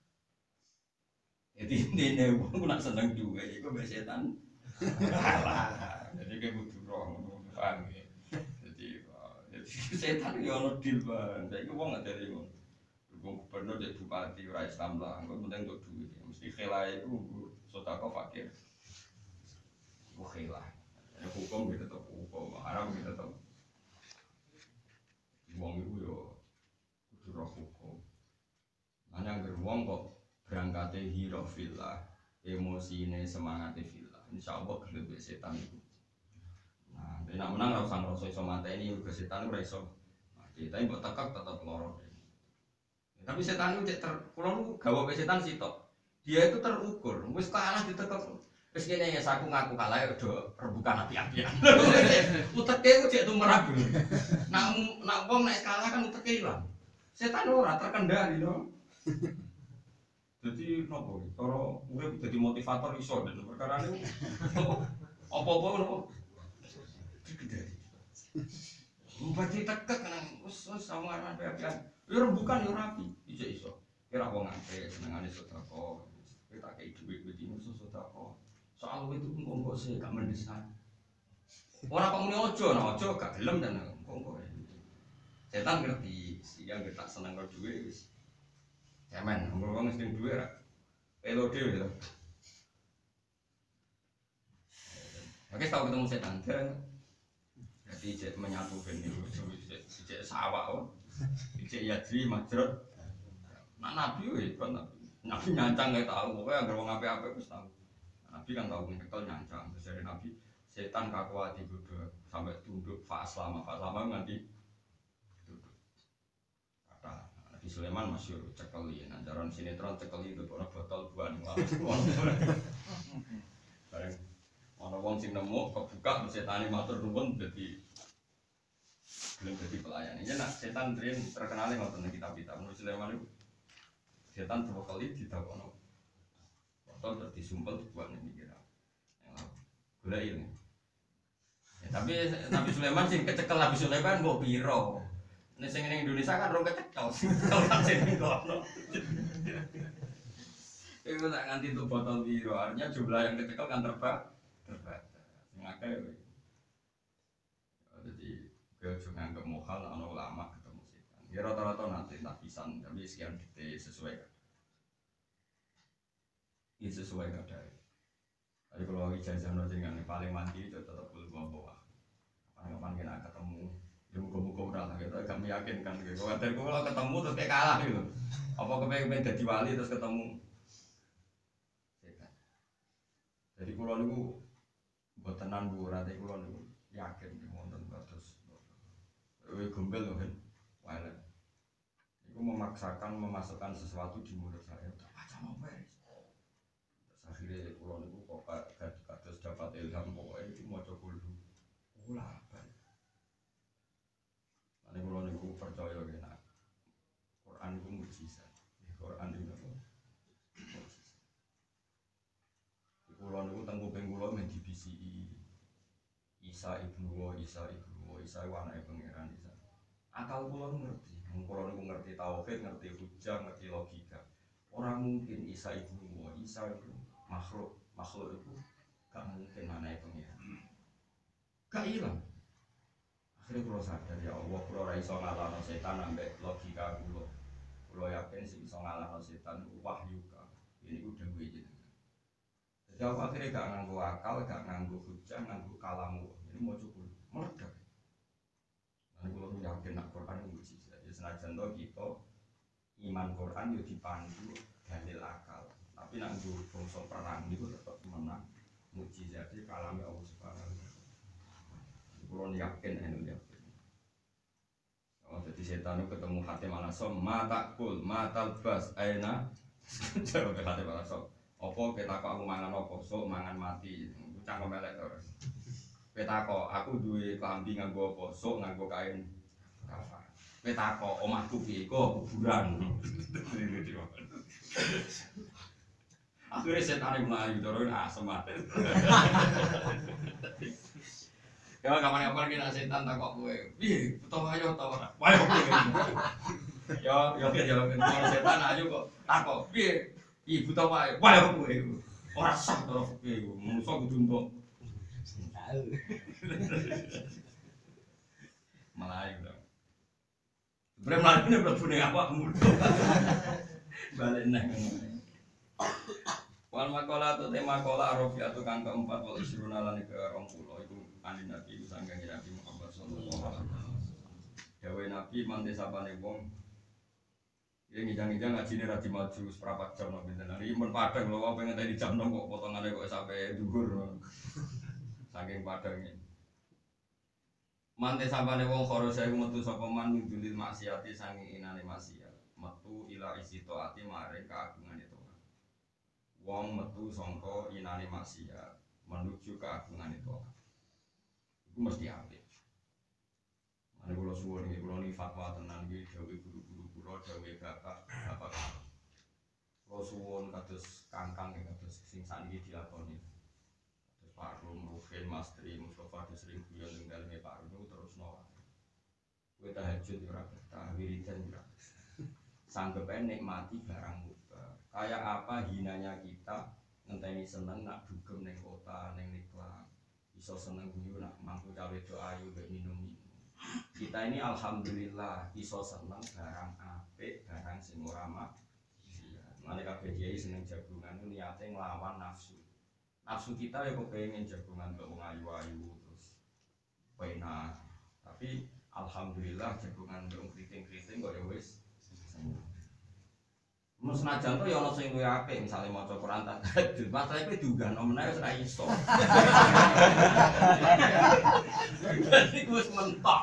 Jadi intine wong nak seneng dhuwit iku mbek setan. Alah, jadi kowe kudu roh, paham ya. Jadi setan yo ono deal Bang. Saiki wong gak dari ngono. Wong gubernur jadi bupati ora Islam lah, engko penting untuk duit. Mesti khilai iku sedekah fakir. Iku khilai. Ya hukum gitu tetep hukum, haram gitu tetep. Wong iku yo kudu roh hukum. Ana anggere wong kok berangkate hira fillah, emosine semangate fillah. Insyaallah gelem setan iku. Nah, nek menang ora usah ngrasa iso mateni mergo setan ora iso. Mati, tapi mbok tekak tetep loro. Tapi setan itu ter, kalau gawe setan sitok, dia itu terukur. Wis kalah ditekek. Wis kene ya aku ngaku kalah ya udah rebukan api-apian. Uteke ku cek tumrap. Nak nak wong nek kalah kan uteke ilang. Setan ora terkendali no. Jadi nopo? Cara urip dadi motivator iso dan perkara niku apa-apa nopo. Mbati tekek nang wis wis sama api-apian. Ya bukan ya rapi, bisa iso. Kira wong apik senengane sedekah. Kita kei dhuwit wit ini sedekah. Soal itu engko-engko sih gak mendesak. Ora kok muni aja, nah aja gak gelem dan engko-engko. Setan ngerti, sing gak tak seneng karo dhuwit wis. Cemen, wong sing dhuwit ra pelode lho. Oke, tau ketemu setan. Jadi cek menyatu ben niku cek sawah kok. Cek yadri majrot. Nak nabi weh kan nabi. Nabi nyancang gak tahu pokoknya agar wong apik-apik wis tahu. Nabi kan tahu nyekel nyancang terus dari nabi setan kakuati godho sampai tunduk fa aslama fa aslama nganti tunduk. Kata Nabi Sulaiman masyhur cekeli nanjaran sinetron cekeli itu ana botol buah ning lawas. Bareng ana wong sing nemu kebuka setane matur nuwun dadi belum jadi pelayan. Ini nak setan tren terkenal ngoten ning kitab-kitab. Nabi Sulaiman itu setan dua kali ditakono. Botol terus disumpel dibuang ning kira. Golek ini. Ya, tapi Nabi Sulaiman sing kecekel Nabi Sulaiman mbok piro? Nek sing ning Indonesia kan rong kecekel. Kan sing ngono. Iku tak nganti untuk botol piro. Artinya jumlah yang kecekel kan terbatas. Terbatas. Sing akeh. Jadi ke jangan ke mohal ana ulama ketemu setan. Ya rata-rata nanti tak pisan tapi sekian detik sesuai. Ini sesuai kadar. Tapi kalau ijazah jenengan paling mati itu tetap belum bawa. Kapan-kapan kena ketemu, ya muka-muka udah lah kita agak meyakinkan gitu. Kalau ketemu terus kayak kalah gitu. Apa kepengen jadi wali terus ketemu setan. Jadi kalau niku buat tenan bu, rata kalau niku yakin wonten terus. Wih gombel loh kan, wala. Iku Itu memaksakan memasukkan sesuatu di mulut saya. Tak baca apa ya? Akhirnya pulau itu kok kados dapat ilham pokoknya itu mau coba dulu. Ulah apa? Nanti pulau itu percaya kena Quran itu mujizat. Quran itu apa? Pulau itu tengku penggulo menjadi B C I Isa ibnu wa Isa ibnu wa Isa itu anaknya pangeran Isa. Akal pulau ngerti. Pulau itu ngerti tauhid, ngerti hujah, ngerti logika. Orang mungkin Isa ibnu wa Isa itu makhluk, makhluk itu gak mungkin anaknya pangeran. Gak hilang. Akhirnya pulau sadar ya Allah, pulau raiso ngalahno setan ambek logika pulau. Pulau yakin sih bisa ngalahno setan wahyu ka. Ini udah gue jadi. Jadi aku akhirnya gak nganggu akal, gak nganggu hujah, nganggu kalamu. Ini mau cukup meledak. Nanti kalau yakin nak Quran itu mujizat. Jadi senajan to kita iman Quran yo dipandu dalil akal. Tapi nak nganggu bangsa perang itu tetap menang. Mujizat di kalame Allah Subhanahu wa taala. Kalau yakin anu yakin. Oh, jadi setan itu ketemu Hatim al-Asom, mata kul, mata bas, aina. Jauh ke Hatim al-Asom. Apa kita kok aku mangan apa sok mangan mati cangkem elek terus kita kok aku duwe klambi nganggo apa sok nganggo kain kafan kita kok omahku piye kok kuburan akhirnya setan melayu terus asem mati ya kapan-kapan kita setan tak kok kowe piye utawa ayo utawa ora wayo yo yo yo kalau setan ayo kok tak kok piye ibu tau wae, wae kowe iku. Ora sah to kowe iku, musuh kudu entuk. Tahu. Melayu to. Sebenarnya melayu ini mlebu ning awakmu. Balik nang. Wal maqala tu tema qala arafiatu kang keempat wal isruna lan ke dua puluh iku kanjeng Nabi sanggang Nabi Muhammad sallallahu alaihi wasallam. Dawe Nabi mante sapane wong ya ngijang-ngijang ngajine ra dimaju seprapat jam nang pinten. Iki mun padang lho apa pengen tadi jam enam kok potongane kok sampai dhuwur. Saking padange. Mante sampane wong khoro saya metu sapa man ngidulil maksiati sange inane maksiat. Metu ila isi taati maring kaagungane Tuhan. Wong metu sangka inane maksiat menuju kaagungane Tuhan. Iku mesti apik. Mane kula suwun iki kula niki fatwa tenan iki dawuh guru-guru kula dawuh bapak bapak. Kula suwun kados kangkang kados sing saniki dilakoni. Kados Pak Rum, Ruhin, Mas Tri, Mustofa sering guyon ning daleme Pak Rum terusno. Kowe tahajud ora betah, wiridan ora. Sanggepe nikmati barang mubah. Kayak apa hinanya kita ngenteni seneng nak dugem ning kota, ning niklah. Iso seneng guyu nak mangku cawe do ayu mbek minum. Kita ini alhamdulillah iso seneng barang apik, barang sing ora maksiat. Mane kabeh kiai seneng jagungan niate nglawan nafsu. Nafsu kita ya kepengin jagungan kok wong ayu-ayu terus penak. Tapi alhamdulillah jagungan wong kriting-kriting kok ya wis seneng. Mas senajan to ya ana sing luwih apik, misale maca Quran tahajud, masalah iki diunggahno meneh wis ora iso. Iku wis mentok.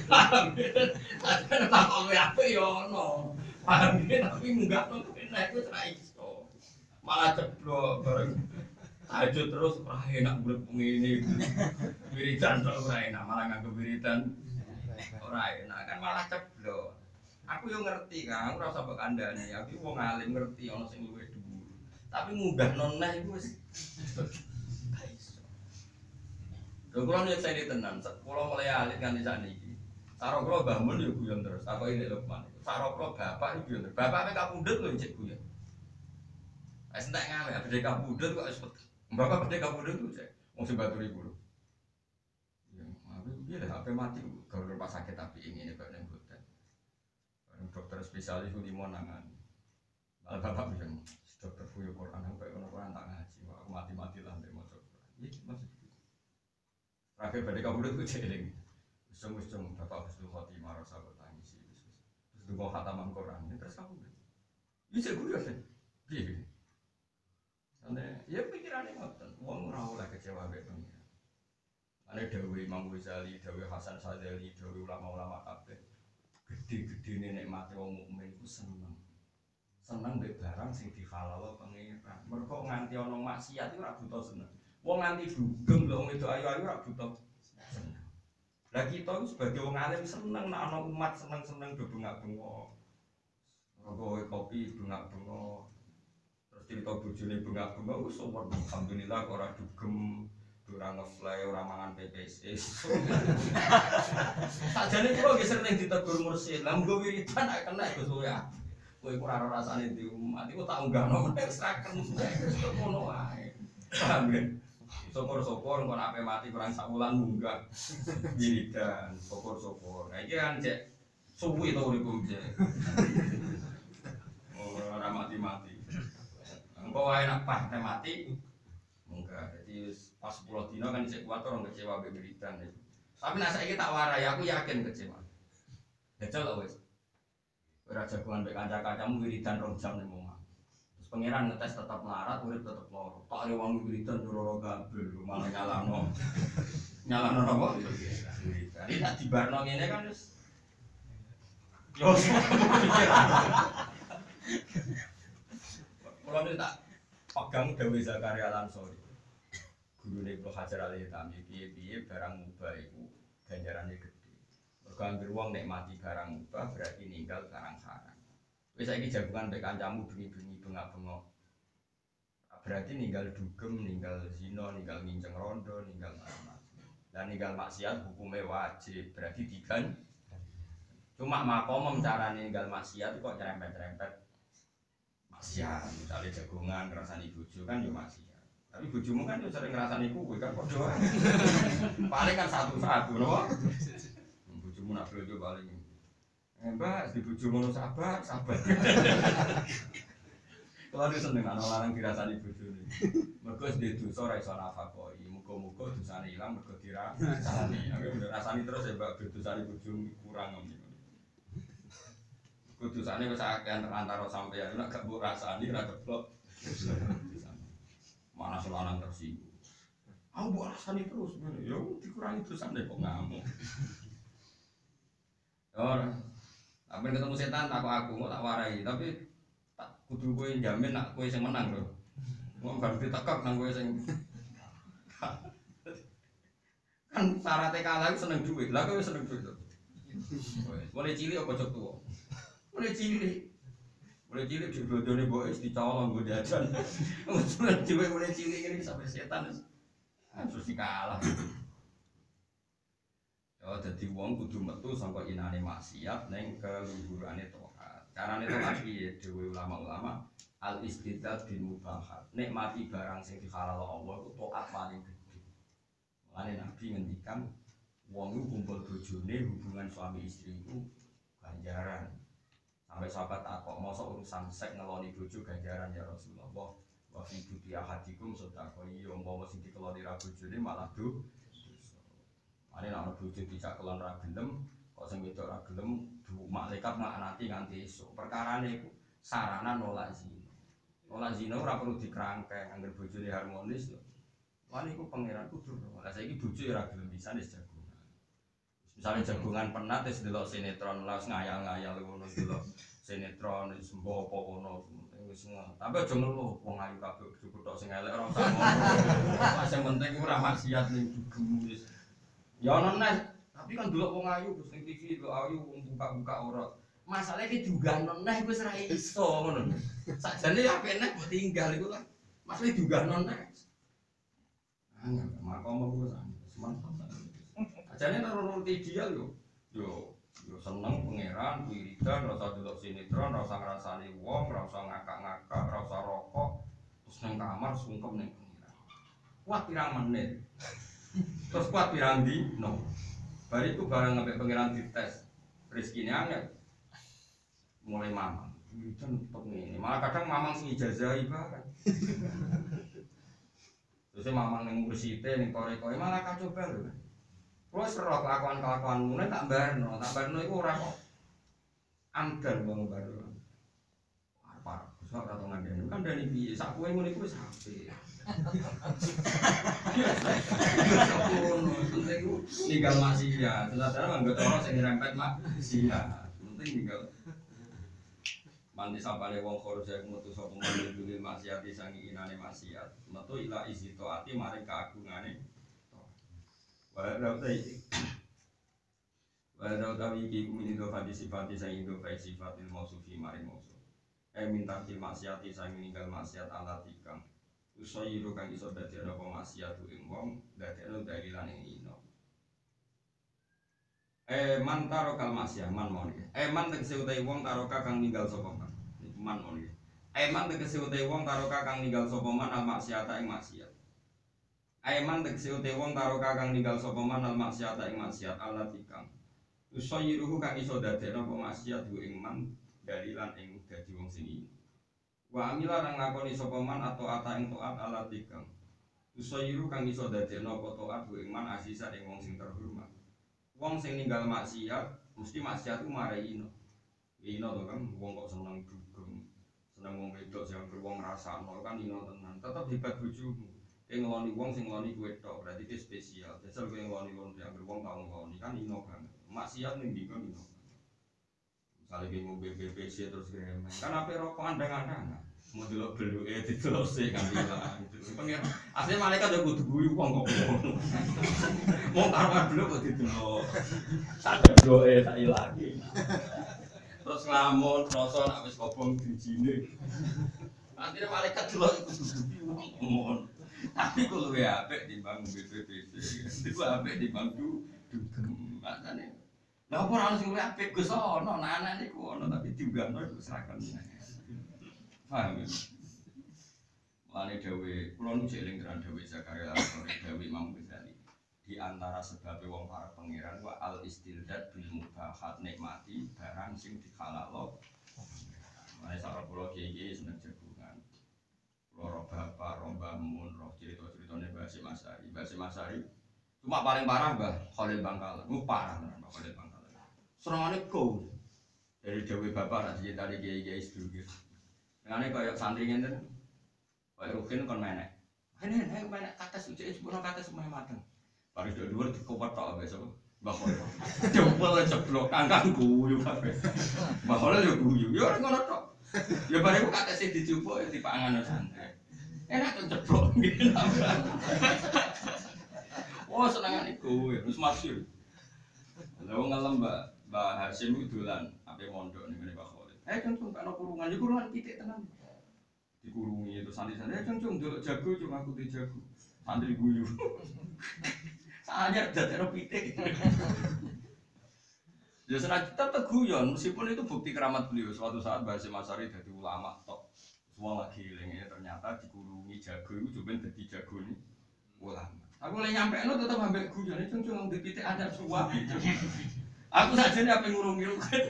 Ada tak luwih apik ya ono. Paham iki tapi munggahno meneh wis ora iso. Malah ceblok bareng tahajud terus ora enak urip ngene. Wiridan tok ora enak, malah nganggo wiridan ora enak kan malah ceblok. Aku yo ngerti kan, aku ora usah mbok kandhani. Aku wong alim ngerti ana sing luwih dhuwur. Tapi munggah noneh iku wis gak iso. Lho kula nek saya tenan, kula mulai alit nganti sakniki. Saro kula Mbah Mun yo guyon terus. Takoki nek Lukman. Saro kula bapak iki guyon. Bapake kapundhut lho cek guyon. Wis entek ngawe, bedhe kapundhut kok wis bapak bedhe kapundhut ku cek. Wong sing baturi kulo. Ya, aku piye lah ape mati gawe rumah sakit tapi ini kok ning hotel. Dokter spesialis itu lima nangan. Malah bapak bilang, dokter fuyo Quran aku kayak orang tak ngaji, aku mati-mati lah dari motor. Iya maksud itu. Terakhir pada kabudut itu celing. Usung-usung bapak Husnul Khotimah rasa bertangis. Terus itu mau khataman Quran, terus kabudut. Iya saya guyon sih. Iya. Karena ya pikirannya ngoten, uang ora oleh kecewa betul. Ada Dawi Imam Ghazali, Dawi Hasan Sadali, Dawi ulama-ulama kabeh. segede-gedene nikmate wong mukmin ku seneng. Seneng mbek barang sing dihalal pangeran. Mergo nganti ana maksiat iku ora buta seneng. Wong nganti dugem lho wong wedok ayu-ayu ora buta seneng. Lah kita sebagai wong alim seneng nek ana umat seneng-seneng do bengak-bengok. Mergo kopi bengak-bengok. Terus cerita bojone bengak-bengok wis alhamdulillah kok ora dugem. Ora ngefly, ora mangan P P S. Sakjane kula nggih sering ditegur mursyid. Lah monggo wiridan nek kena Gus ya. Kowe ora ora rasane di umat iku tak unggahno meneh seraken wis ngono wae. Paham ya? Syukur-syukur engko nek mati kurang sak wulan munggah. Wiridan, syukur-syukur. Nah iki kan cek suwi to uripku cek. Ora mati-mati. Engko wae nek pas mati munggah. Jadi pas sepuluh dino kan cek kuat orang kecewa be wiridan itu. Tapi nek saiki tak warai aku yakin kecewa. Jajal lho wis. Ora jagoan mbek kanca-kancamu wiridan rong jam ning omah. Terus pangeran ngetes tetap melarat, urip tetep loro. Tak ada wong wiridan loro kabeh malah nyalano. Nyalano apa? Wiridan. Ini tak dibarno ngene kan wis. Yo. Kalau ini tak pegang Dewi Zakaria Al-Ansori. Guru Ibnu Hajar Al-Haytami piye-piye barang mubah iku ganjarane gede. Mergo anggere wong nek mati barang mubah berarti ninggal barang haram. Wis saiki jagungan mek kancamu bengi-bengi bengak-bengok. Berarti ninggal dugem, ninggal zina, ninggal nginceng rondo, ninggal macam-macam. Dan ninggal maksiat hukumnya wajib, berarti digan. Cuma makom carane ninggal maksiat kok nyerempet-nyerempet maksiat. Misalnya jagungan ngrasani bojo kan yo maksiat. Tapi bojomu kan yo sering ngrasani kuwe kan padha. Paling kan satu-satu lho. Bojomu nak bojo paling. Eh Mbak, di bojo ngono sabar, sabar. Kalau seneng ana larang dirasani bojone. Mergo sedhe dosa ora iso nafakoi. Muga-muga dosane ilang mergo dirasani. Aku rasani terus ya Mbak dosane bojomu kurang ngene. Kudusane wis akeh antara sampeyan nek gak mbok rasani ora keblok. Mana selanang tersinggung. Aku mbok rasani terus ngene. Ya dikurangi dosane kok ngamuk. Ora. Sampe ketemu setan tak kok aku tak warai, tapi tak kudu kowe jamin nak kowe sing menang lho. Wong bar ditekak nang kowe sing kan syaratnya kalah seneng duit. Lah kowe seneng duit to. Mulai cilik apa cocok tuwa? Mulai cilik, mulai cilik jodoh-jodohnya boys dicolong gue jajan. Mulai cilik mulai cilik ini sampai setan terus dikalah. Ya jadi wong kudu metu sangka inane maksiat neng keluhurane taat. Carane taat piye dhewe ulama-ulama al istidad bil mubahat. Nikmati barang sing dihalal Allah itu taat paling gede. Mulane Nabi ngendikan wong iku kumpul bojone hubungan suami istri itu ganjaran. Sampai sahabat takok mosok urusan seks ngeloni bojo ganjaran ya Rasulullah. Wa fi buti ahadikum sedekah iya umpama sing dikeloni ra bojone malah do. Mane nek ana bojo dicak kelon ra gelem, kok sing wedok ra gelem, malaikat nglaknati nganti esuk. Perkarane iku sarana nolak zina. Nolak zina ora perlu dikrangkeng, anggere bojone harmonis lho. Lan iku pangeran kudu. Lah saiki bojo ora gelem pisan wis jago. Misalnya jagungan penat wis delok sinetron lah ngayal-ngayal ngono delok sinetron wis mbok apa ngono wis ngono. Tapi aja ngeluh wong ayu kabeh cukup tok sing elek ora usah ngono. Sing penting ora maksiat ning dugem wis. Ya ono neh, tapi kan delok wong ayu Gus ning T V delok ayu wong buka-buka ora. Masalahe ki diunggahno neh wis ora iso ngono. Sakjane ya apik neh mbok tinggal iku lah. Masalahe diunggahno neh. Angel makom wis mantap. Jane nurut ideal yo, yo, yo seneng pangeran, wiridan, rasa delok sinetron, rasa ngrasani wong, rasa ngakak-ngakak, rasa rokok, terus nang kamar sungkem ning pangeran. Kuat pirang menit. Terus kuat pirang dino. Bariku bareng ngambek pangeran dites. Rezekine angel. Mulai mamang. Wiridan tetep ngene. Malah kadang mamang sing ijazahi bareng. Terus mamang ning mursite ning korek-korek malah kacau bae lho. Kulo seru kelakuan-kelakuanmu nek tak barno, tak barno iku ora kok anggar wong barno. Apa? Wis ora tau ngandani. Kandani piye? Sak kowe ngene iku wis apik. Ngono, penting iku ninggal maksiat. Sadar manggo cara sing ngrempet maksiat. penting tinggal. Mandi sapane wong khoroja metu sapa mandi dulil maksiat sangi inane maksiat. Metu ila isi taati maring keagungane. Wa rawtai. Wa rawtai iki kumini do fati sifati sangi do fai sifatil mausufi maring mausuf. Eh minta til maksiati sangi ninggal maksiat ala tikang. Usayiru kang iso dadi ana apa maksiat ing wong dadekno dalilan ing ino. Eh man taro kal maksiat man mon iki. Eh man tegese utahe wong taroka kang ninggal sapa man. Niku man mon iki. Eh man tegese utahe wong taroka kang ninggal sapa man al maksiata ing maksiat. Eh man tegese utahe wong taroka kang ninggal sapa man al maksiata ing maksiat ala tikang. Usayiru kang iso dadekno apa maksiat ing man dalilan ing dadi wong sing iki. Wa amila nang lakoni sapa man atau ata ing taat ala tikang. Usayiru kang iso dadekno apa taat ing man asisan ing wong sing terhormat. Wong sing ninggal maksiat mesti maksiat ku marai ino. Ino to kan wong kok seneng dugem, seneng wong wedok sing wong ngrasakno kan ino tenan. Tetep hebat bojomu. Kowe ngeloni wong sing ngeloni kowe tok, berarti iki spesial. Jajal kowe ngeloni wong sing wong tau ngeloni kan ino banget. Maksiat ning ndi kan ino. Misale kowe ngombe B B C terus gremeng. Kan ape rokok andang-andang. Mau delok beluke didelok sik kan ilang. Pengen asline malaikat yo kudu guyu wong kok ngono. Wong karo beluk kok didelok. Sak deloke tak ilangi. Terus nglamun rasa nek wis kobong dijine. Antine malaikat delok kudu guyu ngono. Tapi kok luwe apik timbang B B C. Iku apik timbang du dugem. Makane lha ora ono sing luwe apik Gus ono, anak niku ono tapi diunggahno iku seragam. Paham ya? Mulane dawe, kula nu jek eling tenan dawe Zakaria Al-Qori dawe Imam Ghazali. Di antara sebab wong para pangeran wa al istildad bil mubahat nikmati barang sing dihalalo. Mulane sak kula kiye-kiye seneng jagungan. Kula roh bapak, roh mbahmun, roh cerita-ceritane Mbah Hasyim Asy'ari. Mbah Hasyim Asy'ari cuma paling parah Mbah Khalil Bangkalan. Ku parah tenan Mbah Khalil Bangkalan. Serangane go. Dari dawe bapak ra diceritani kiye-kiye sedulur. Ngene kaya santri ngene. Kaya rukin kon menek. Hene nek menek kates ujek sepuro kates semeh mateng. Baris do dhuwur dikopot tok besok. Mbah Khalil. Jempol jeblok kangkang guyu kabeh. Mbah Khalil yo guyu. Yo ora ngono tok. Ya bareng kates dijupuk ya dipangan santri. Enak to jeblok ngene. Oh senengane guyu wis masyhur. Lha wong ngalem Mbak Mbah Hasyim iku dolan ape mondok ning ngene Mbah Khalil. Eh cung-cung kena kurungan, ya kurungan pitik tenan. Dikurungi itu santri-santri, eh cung-cung delok jago cuma aku di jago. Santri guyu. Anyar dadekno pitik. Ya senajan tetep guyon, meskipun itu bukti keramat beliau. Suatu saat Mbah Hasyim Asy'ari dadi ulama tok. Semua lagi eling ternyata dikurungi jago itu coba dadi jago ini ulama. Aku oleh nyampekno tetep ambek guyon, cung-cung di pitik ada suap. Aku saja nih apa ngurungi lu kan?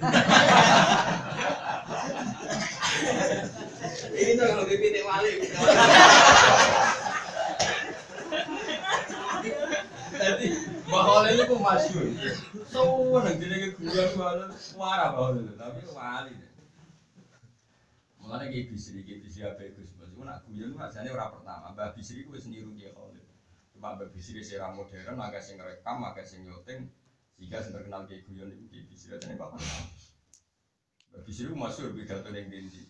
Ini tuh kalau dipitik wali. Jadi bahwa ini pun masyhur. Semua nanti nih keguguran bahwa suara bahwa itu, tapi wali. Mulanya kayak bisri, kayak bisri apa itu sebab itu nak guyon rasanya orang pertama. Mbah Bisri itu seniru dia Khalil. Cuma Mbah Bisri secara modern, agak sing rekam, agak sing nyoting. Jika yang terkenal kayak guyon itu di Bisri aja nih bapak. Mbah Bisri itu masyhur pidato yang tinggi.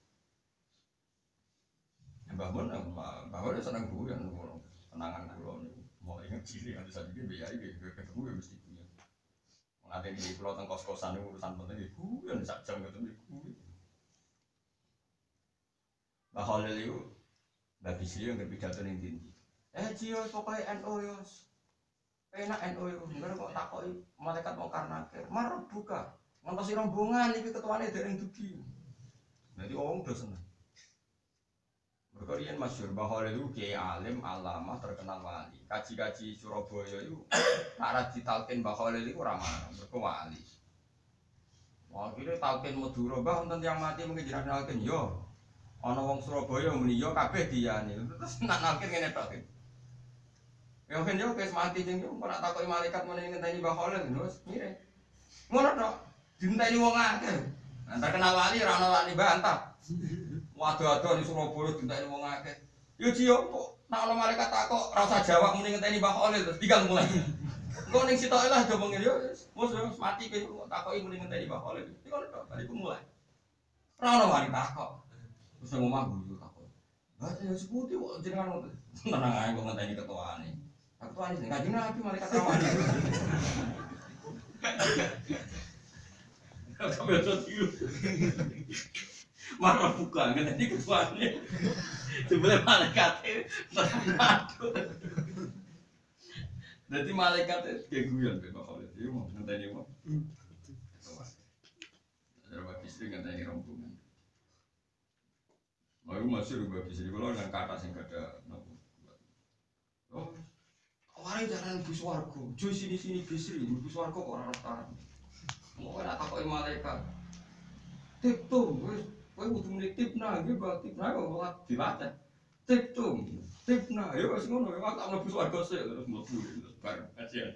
Mbah Mun, Mbah Mun senang guyon, kenangan guyon. Mau ingat ciri ada satu dia biaya gitu, ketemu ya mesti guyon. Nanti di pulau tengkos kosan itu urusan penting di guyon sak jam ketemu di guyon. Mbah Khalil itu, Mbah Bisri yang berpidato yang tinggi. Eh Cio pokoknya N O yos. Enak N O itu, enggak kok takoi malaikat mau karena akhir, marah buka, ngantosi rombongan ini ketuanya dari yang dugi. Jadi orang udah senang. Berkorian masyhur bahwa itu kiai alim, alama terkenal wali. Kaji-kaji Surabaya itu, nak ditalkin bahwa itu ramah, berkewali. Wah kira talkin Madura, bah untuk yang mati mungkin jadi talkin yo. Ono wong Surabaya muni yo kabeh diane. Terus nak nalkin ngene tok. Ya kan yo wis mati jeng yo ora takoki malaikat meneh ngenteni Mbah Khalil terus ngire. Ngono tok. Dinteni wong akeh. Nah terkenal wali ora ono wali bantah. Waduh-waduh di Surabaya dinteni wong akeh. Yo Cio kok nak ono malaikat takok ora usah jawab meneh ngenteni Mbah Khalil terus digang mulai. Kok ning sitoke lah do mengene yo wis wis mati kowe takoki muni ngenteni Pak Khalil. Iki kono tok bariku mulai. Ora ono wani takok. Terus nang omah guyu takok. Lah ya seputi kok jenengan ngoten. Tenang ae kok ngenteni ketuane. Aku tuane sing kanjeng Nabi malaikat rawani. Kamu yo tiru. Marah buka ngenteni ketuane. Sebelah malaikat aduh. Dadi malaikat kayak guyon Pak Khalil. Iki mau ngenteni apa? Ada istri ngenteni rombongan. Mau masih rubah istri kalau dengan kata sing kada nopo. Oh, awalnya jalan bus wargo, jo sini sini bisri, bus wargo kok orang orang. Mau nak takoki malaikat. Tip tuh, wes, wes butuh milik tip nah, gitu tip nah kok buat dibaca. Tip tuh, tip nah, ya wes ngono, ya tak mau bus wargo sih terus mau terus bareng aja.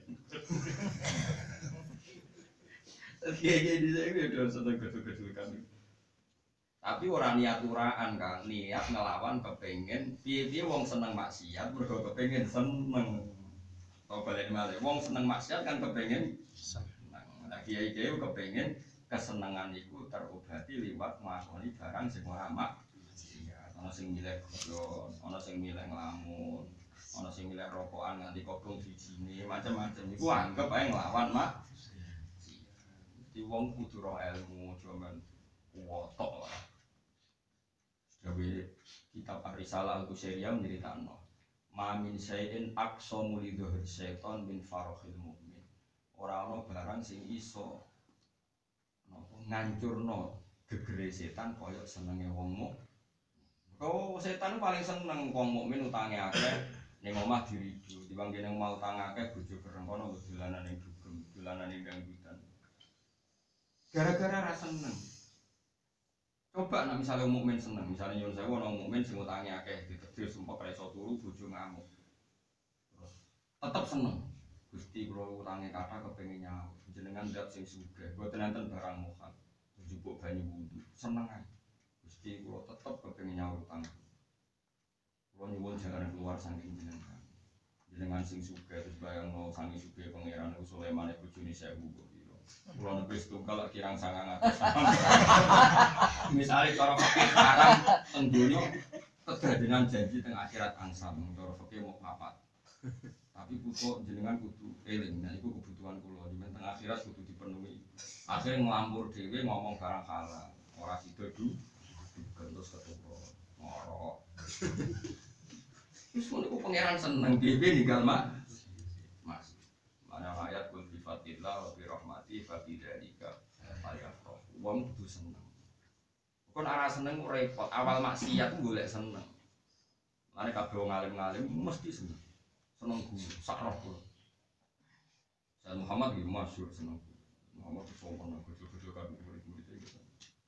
Kayak di sini udah seneng gedul-gedul kami. Tapi orang niat uraan kan, niat ngelawan kepengen, piye-piye wong seneng maksiat, mergo kepengen seneng. Tau balik malih, wong seneng maksiat kan kepengen seneng. Nah kiai-kiai kepengen kesenengan iku terobati liwat nglakoni barang sing ora maksiat. Ana sing milih godhon, ana sing milih nglamun, ana sing milih rokokan nganti kodhong dijine, macam-macam. Iku anggap ae nglawan maksiat. Di wong kudu ro ilmu, cuman wotok lah. Jadi kitab Ar-Risalah Al-Qusairiyah menceritakan Mamin syai'in aqsamu li dhuhri syaitan min farohil mu'min. Orang-orang barang sing iso ngancurno gegere setan koyok senenge wong mukmin. Oh, setan paling seneng wong mukmin utange akeh ning omah diridu. Timbang kene mau utang akeh bojo kereng kono dolanan ning dugem, dolanan ning dangdutan. Gara-gara ra seneng. Coba nek misale mukmin seneng, misale nyuwun sewu ana mukmin sing utange akeh ditedhir sumpah ra iso turu bojo ngamuk. Terus tetep seneng. Gusti kula utange kathah kepengin nyaur. Jenengan ndak sing sugih, mboten enten barang mohon. Njupuk banyu wudu, seneng ae. Gusti kula tetep kepengin nyaur utang. Kula nyuwun jangan keluar saking jenengan. Jenengan sing sugih terus bayangno saking sugih pangeran Sulaiman bojone sewu kok. Kula nepis tunggal lak kirang sangang atus. Misale cara fikih haram teng donya kedadenan janji teng akhirat angsam, cara fikih mau papat. Tapi putu jenengan kudu eling, nah iku kebutuhan kula, jenengan teng akhirat kudu dipenuhi. Akhire nglampur dhewe ngomong barang halal, ora sida du terus ketuwa ngorok. Wis ngono ku pangeran seneng dhewe ninggal mak. Mas. Mana ayat kul bi fatillah wa bi rahmati fa bidzalika falyafrah. Wong kudu seneng. Kon ora seneng repot, awal maksiat golek seneng. Lane kabeh wong alim-alim mesti seneng. Seneng guru, sak roh kula. Saya Muhammad iki masyhur seneng. Muhammad sopan gede-gede kan murid-murid iki.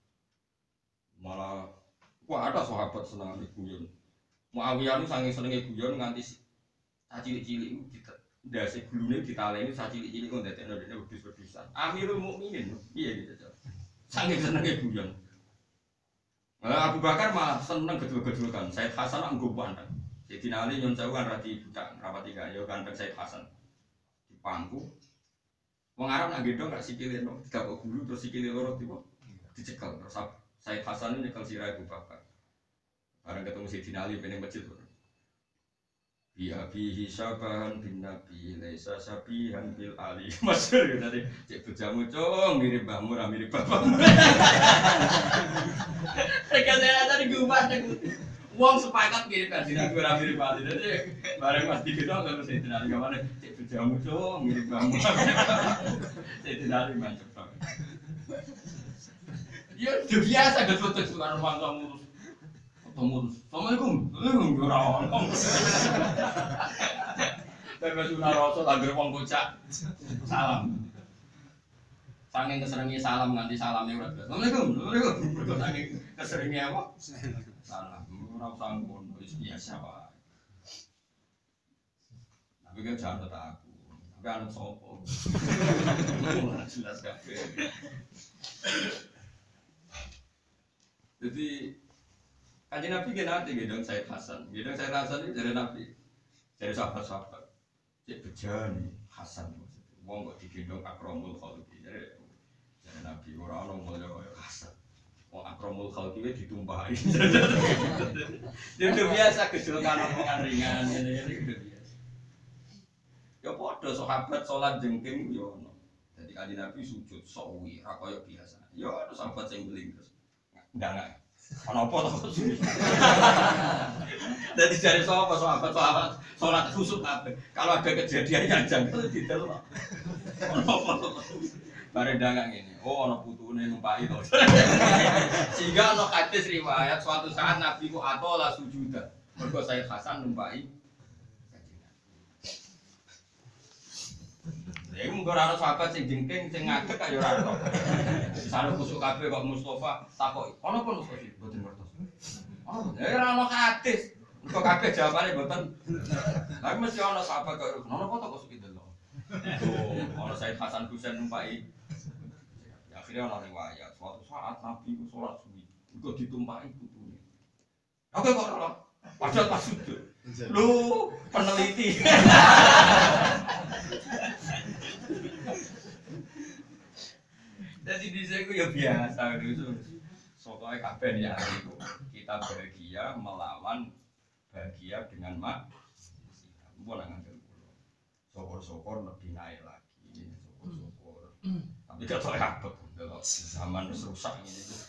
Malah wah ada sahabat seneng guyon. Muawiyah nu saking senenge guyon nganti cilik-cilik iku ditet ndase glune ditaleni cilik-cilik kok ndadekno dene wedhus-wedhusan. Amirul Mukminin piye gitu. Saking senenge guyon. Abu Bakar malah seneng gedul-gedulkan. Said Hasan nggo panteng. Sayyidina Ali nyon sewu kan radi budak rapati gak ya ganteng Said Hasan. Di pangku. Wong Arab nak gedhong gak sikile no, digapok gulu terus sikile loro tiba dicekel terus Said Hasan ini nyekel sirah Abu Bakar. Bareng ketemu Sayyidina Ali peneng masjid. Biya bihi sabahan bin Nabi laisa sabihan bil Ali. Masyhur ya tadi cek bojamu cung mirip mbahmu ra mirip bapakmu. Rekasane tadi gubah wong sepakat mirip kan Nabi ra mirip Ali. Dadi bareng Mas dikira karo Sayyidina Ali gamane cek bojamu cung mirip mbahmu. Sayyidina Ali mantep banget. Ya udah biasa gak foto suara ruang kamu ketemu Assalamualaikum Assalamualaikum ora ono tapi sudah rasul agar wong bocah salam saking keseringe salam nganti salame ora Assalamualaikum Assalamualaikum saking keseringe apa salam ora sangkon wis biasa wae tapi kan jangan tak aku tapi anak sopo ora jelas kabeh jadi Kanjeng Nabi ge nanti gedong Said Hasan. Gedong Said Hasan itu dari Nabi. Dari sahabat-sahabat. cek bejane Hasan maksudnya. Wong kok digendong akramul khalqi. Jadi jadi Nabi ora ono mulya kaya Hasan. Wong akramul khalqi wis ditumpahi. Dia udah biasa kecilkan omongan ringan ngene-ngene udah biasa. Ya padha sahabat salat jengking yo ono. Dadi kanjeng Nabi sujud sawi ra kaya biasa. Ya ono sahabat sing beling terus. Ndak ana apa to sujud. Dadi jare sapa sahabat sahabat salat khusuk kabeh. Kalau ada kejadian yang janggal didelok. Ana apa to? Bare ndangak ngene. Oh ana putune numpaki to. Sehingga ana hadis riwayat suatu saat Nabi ku atola sujudan. Mergo Sayyid Hasan numpaki. Ya iku mung ora ana sahabat sing jengking sing ngadeg kaya ora ono. Sare kusuk kabeh kok Mustofa takoki. Ono apa Mustofa? Mboten ngertos. Oh, ya ora ono hadis. Kok kabeh jawabane mboten. Lah mesti ono sahabat kok ono apa to kok suki delok. Oh, ono Sayyid Hasan Husain numpaki. Ya akhirnya ono riwayat suatu saat Nabi ku salat suwi. Iku ditumpaki putune. Oke kok ora. Padahal pas sujud. Lu peneliti. Jadi di sini ya biasa gitu. Soalnya kabeh ya itu kita bahagia melawan bahagia dengan mak. Boleh ngambil pulau. Syukur-syukur lebih naik lagi. Syukur-syukur. Tapi gak tahu apa kalau zaman rusak ini itu.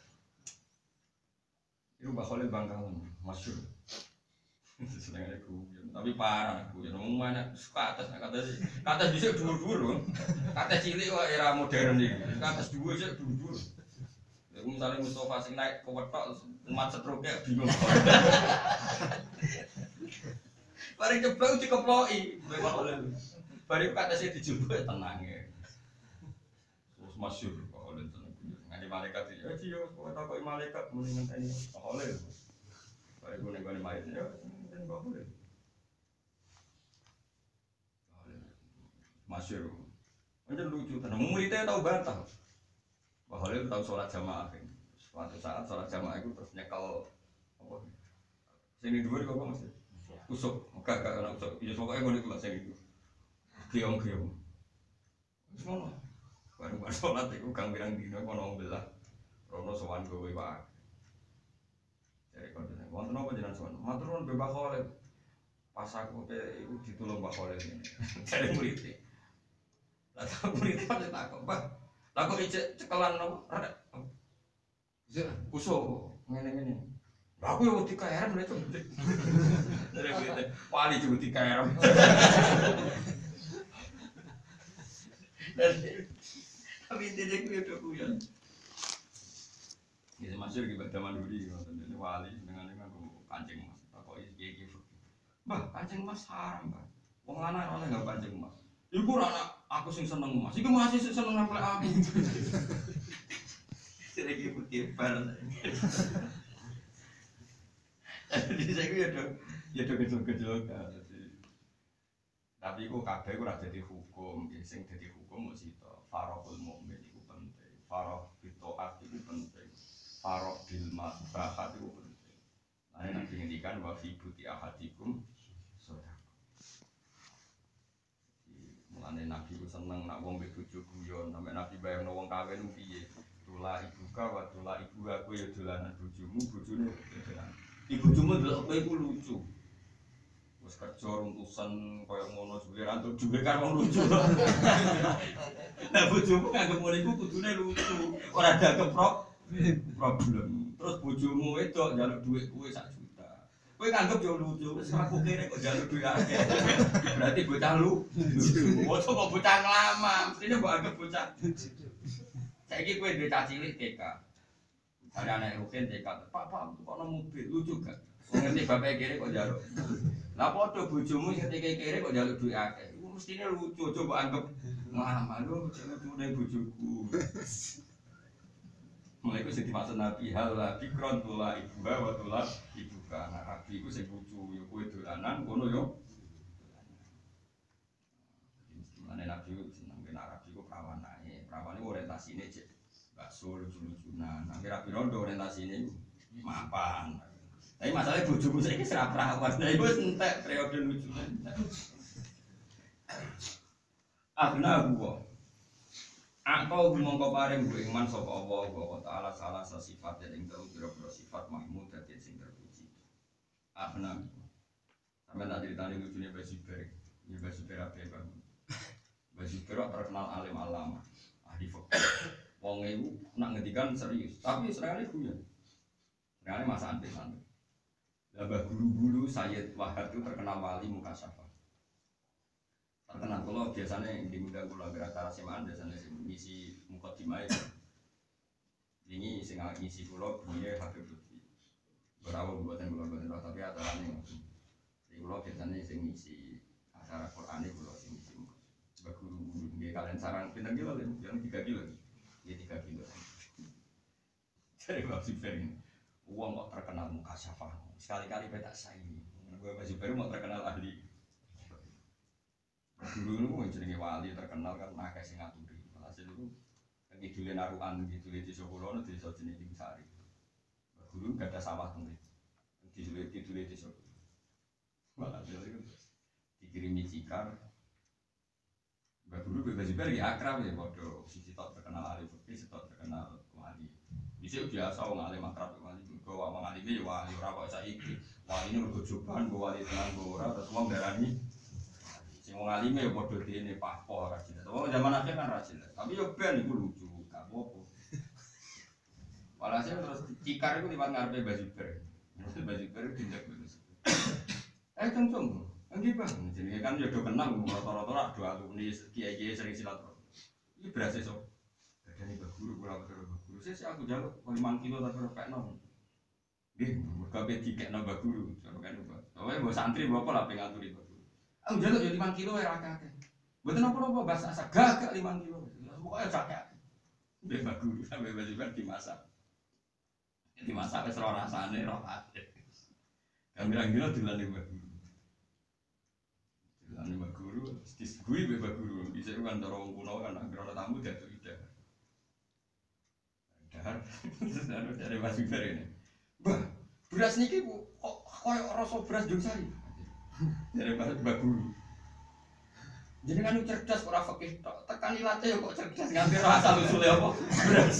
Itu bakal Bangkalan masyhur. Senengane guyon, tapi parah guyon. Wong mana suka atas kata sih. Kata dhisik dhuwur-dhuwur. Kata cilik kok era modern iki. Kata dhuwur sik dhuwur-dhuwur. Lha misale Mustofa sing naik ke wetok umat setroke bingung. Bareng jeblok dikeploki, memang oleh. Bareng kata sih dijupuk tenang ya. Terus masyhur kok oleh tenang. Ngene malaikat iki, "Ya ciyo, kok takoki malaikat muni ngenteni." Oleh. Bareng gone-gone mayit ya. Enggak boleh. Masyur. Macam lucu tenan. Muridnya tahu batal. Bahwa dia tahu sholat jamaah. Suatu saat sholat jamaah itu terus nyekel apa? Sini dua kok masih. Usuk, enggak enggak nak usuk. Ya pokoknya ngono iku lah sing itu. Giong-giong. Wis ngono. Baru-baru sholat iku kang pirang dina kono belah. Rono sowan kowe wae. Jadi kalau dia, wonten apa jenengan sowan? Matur nuwun Mbah Khalil. Pas aku pe iku ditulung Mbah Khalil ngene. Jare murid. Lah tak murid pasti takok, "Mbah, lah kok ijek cekelan apa? Rada." Iya, kusuk ngene-ngene. Lah aku yo wedi kaeran lho, Cuk. Jare murid, "Wali juga wedi kaeran." Tapi dia ku yo kuyon. Ini masyhur di zaman dulu ini wali dengan dengan kancing mas. Kok iki iki. Mbah, kancing mas haram, Mbah. Wong lanang oleh enggak kancing mas. Iku anak aku sing seneng mas. Iku masih sing seneng nempel aku. Iki putih bar. Jadi saya ku ya do ya do gejol-gejol kan. Tapi iku kabeh ora dadi hukum, sing dadi hukum mesti to farahul mukmin iku penting. Farah bitaat iku penting. Farok bilma bahat itu penting. Nah, nanti ngendikan wa fi buti ahadikum sedekah. Mulane Nabi ku seneng nak wong mbek bojo guyon, sampe Nabi bayangno wong kawin piye. Tula ibuka wa tula ibu aku ya dolanan bojomu, bojone dolanan. Ibu bojomu delok kowe iku lucu. Wis kerja runtusan kaya ngono suwe ra entuk dhuwit karo wong lucu. Nah bojomu nganggep ngono iku kudune lucu. Ora dagem prok problem. Terus bojomu wedok njaluk dhuwit kowe sak juta. Kowe nganggep yo lucu, wis aku kene kok njaluk dhuwit akeh. Berarti bocah lu. Ojo kok bocah nglama, mestine mbok anggap bocah. Saiki kowe duwe cah cilik T K. Ada anak Rukin T K. Pak, Pak, kok ono mobil lucu gak? Ngerti bapake kene kok njaluk. Lah padha bojomu sing teke kene kok njaluk dhuwit akeh. Iku mestine lucu, coba anggap nglama lho lucune bojoku. Mulai itu sing dimaksud Nabi hal la fikron tula ibu wa tula ibu ka. Nah, Nabi iku sing lucu yo kowe dolanan ngono yo. Mulane Nabi ku seneng ben Arab iku prawan ae. Prawan iku orientasine cek bakso lucu-lucunan. Nang kira pirondo orientasine mapan. Tapi masalahnya bojomu saiki ora prawan. Lah iku wis entek periode lucunan. Agna gua. Atau mongko paring gue iman sapa Allah wa taala salah sifat ing telu pira-pira sifat mahmud dadi sing terpuji. Agna. Sampe tak critani lucune Basi Ber. Ya Basi Ber ape Bang. Basi Ber terkenal alim alama. Ahli fikih. Wong iku nak ngendikan serius, tapi senengane guyon. Senengane masa santai. Lah guru-guru Sayyid Wahab itu terkenal wali mukasyafah. Terkenal kalau biasanya yang diundang kula acara semaan biasanya ngisi mukadimah itu. Ini sing ngisi kula bunyi Habib Lutfi. Berawal buatan kula buatan tapi acarane Jadi kula biasanya sing ngisi acara Quran itu kula sing ngisi. Mbak guru-guru nggih kalian sarang pinten kilo lho, yang tiga kilo. Ya tiga kilo. Jadi Mbak Super ini uang kok terkenal mukasyafah. Sekali-kali petak saingi. Gue Mbak Super mau terkenal ahli. Dulu itu jenenge wali terkenal kan akeh sing ngaturi. Hasil itu ngidule narukan ngidule desa kula nu desa jenenge Tingsari. Guru gak ada sawah teng mriki. Ngidule ngidule desa. Malah itu dikirimi cikar. Mbak Guru bebas juga ya akrab ya padha sisi tok terkenal ahli fikih, sitok terkenal wali. Dhisik biasa wong alim akrab wali mergo wong alime ya wali ora kok saiki. Waline mergo joban, wali tenan ora terus wong darani sing wong alime ya padha dene pahpo ora jelas. Wong zaman akhir kan ra jelas. Tapi yo ben iku lucu, gak apa-apa. Walhasil terus cikar iku liwat ngarepe Baziber. Baziber tindak terus. Eh cung-cung, nggih Bang, jenenge kan yo do kenal rata-rata ra do alumni kiai-kiai sering silaturahmi. Iki berase sok. Dadane Mbah Guru kula karo Mbah Guru. Sesuk aku njaluk lima kilo tapi ora pekno. Nggih, mergo ape dikekno Mbah Guru, jare kan Mbah. Oke, mbok santri mbok apa lah pengaturi. Aku njaluk ya lima kilo ya akeh-akeh. Mboten apa-apa bahasa asa gagak lima kilo. Pokoke akeh. Mbek Mbak Guru sampe baju dimasak. Dimasak wis ora rasane ora ate. Gambiran-gambiran dilane Mbak Guru. Dilane Mbak Guru, disegui Mbak Guru. Dhisik kan cara wong kuno kan anggere ana tamu diatur ida. Dahar terus ana dari Mas Ibar ini. Mbah, beras niki kok koyo rasa beras Jongsari. Dari Mbak Guru. Jadi kan cerdas ora fikih tok. Tekan ilate yo kok cerdas nganti ora asal usule apa. Beras.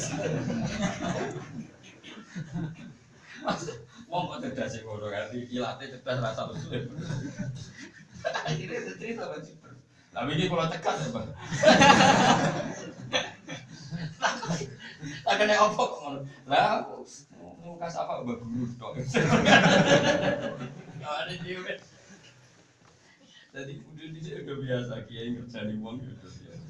Wong kok cerdas e ngono nganti ilate cerdas ora asal usule. Akhire cerita Mas. Lah iki kula tekan ya, Bang. Tak kena opo kok ngono. Lah mukas apa Mbak Guru tok. Ya ada dhewe. Jadi udah di sini udah biasa kiai ngerjani wong udah biasa.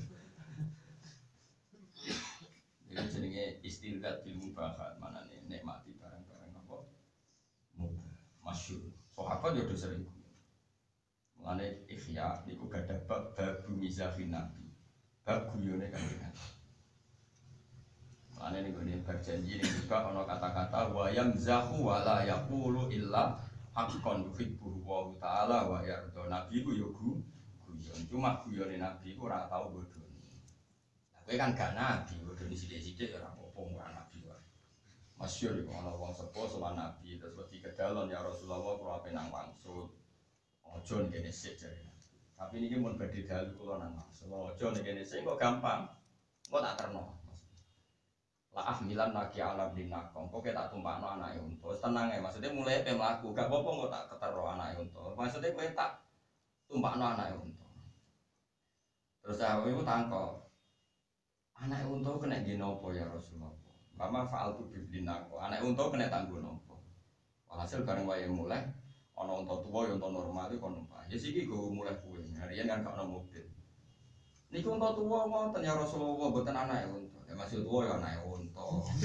Jadi jenenge istildat bil mubahat mana nih nikmati barang-barang apa mubah masyhur. Sahabat yo udah sering. Mulane Ihya niku gadah bab babu mizafin nabi. Bab guyone kanjeng. Mulane niku nek berjanji ning juga ana kata-kata wa yamzahu wa la yaqulu illa hakon yuhibbu wa ta'ala wa yarda. Nabi ku yo guyon. Cuma guyone nabi ku ora tau bodoni. Lah kowe kan gak nabi, bodoni sithik-sithik ora apa-apa ora nabi wae. Masyhur iku ana wong sepuh sowan nabi terus wedi kedalon ya Rasulullah kula ape nang wangsul. Aja ngene sik jare. Tapi niki mun badhe dalu kula nang wangsul. Aja ngene sik kok gampang. Kok tak terno. La ahmilan naki alam dinak kok tak tumpakno anake unta. Wis tenang ae, maksudnya mulai pe mlaku, gak apa-apa kok tak ketero anake unta. Maksudnya kowe tak tumpakno anake unta. Terus aku iku tangkok. Anake unta kena ngene apa ya Rasulullah? Mama faal tu bidinak. Anake unta kena tanggo napa? Walhasil bareng wae mulai ana unta tuwa ya unta normal iki kon numpak. Ya siki go mulai kuwe. Harian kan gak ono mobil. Niku unta tuwa wonten ya Rasulullah mboten anake unta. Ya masih tuwa ya anake unta.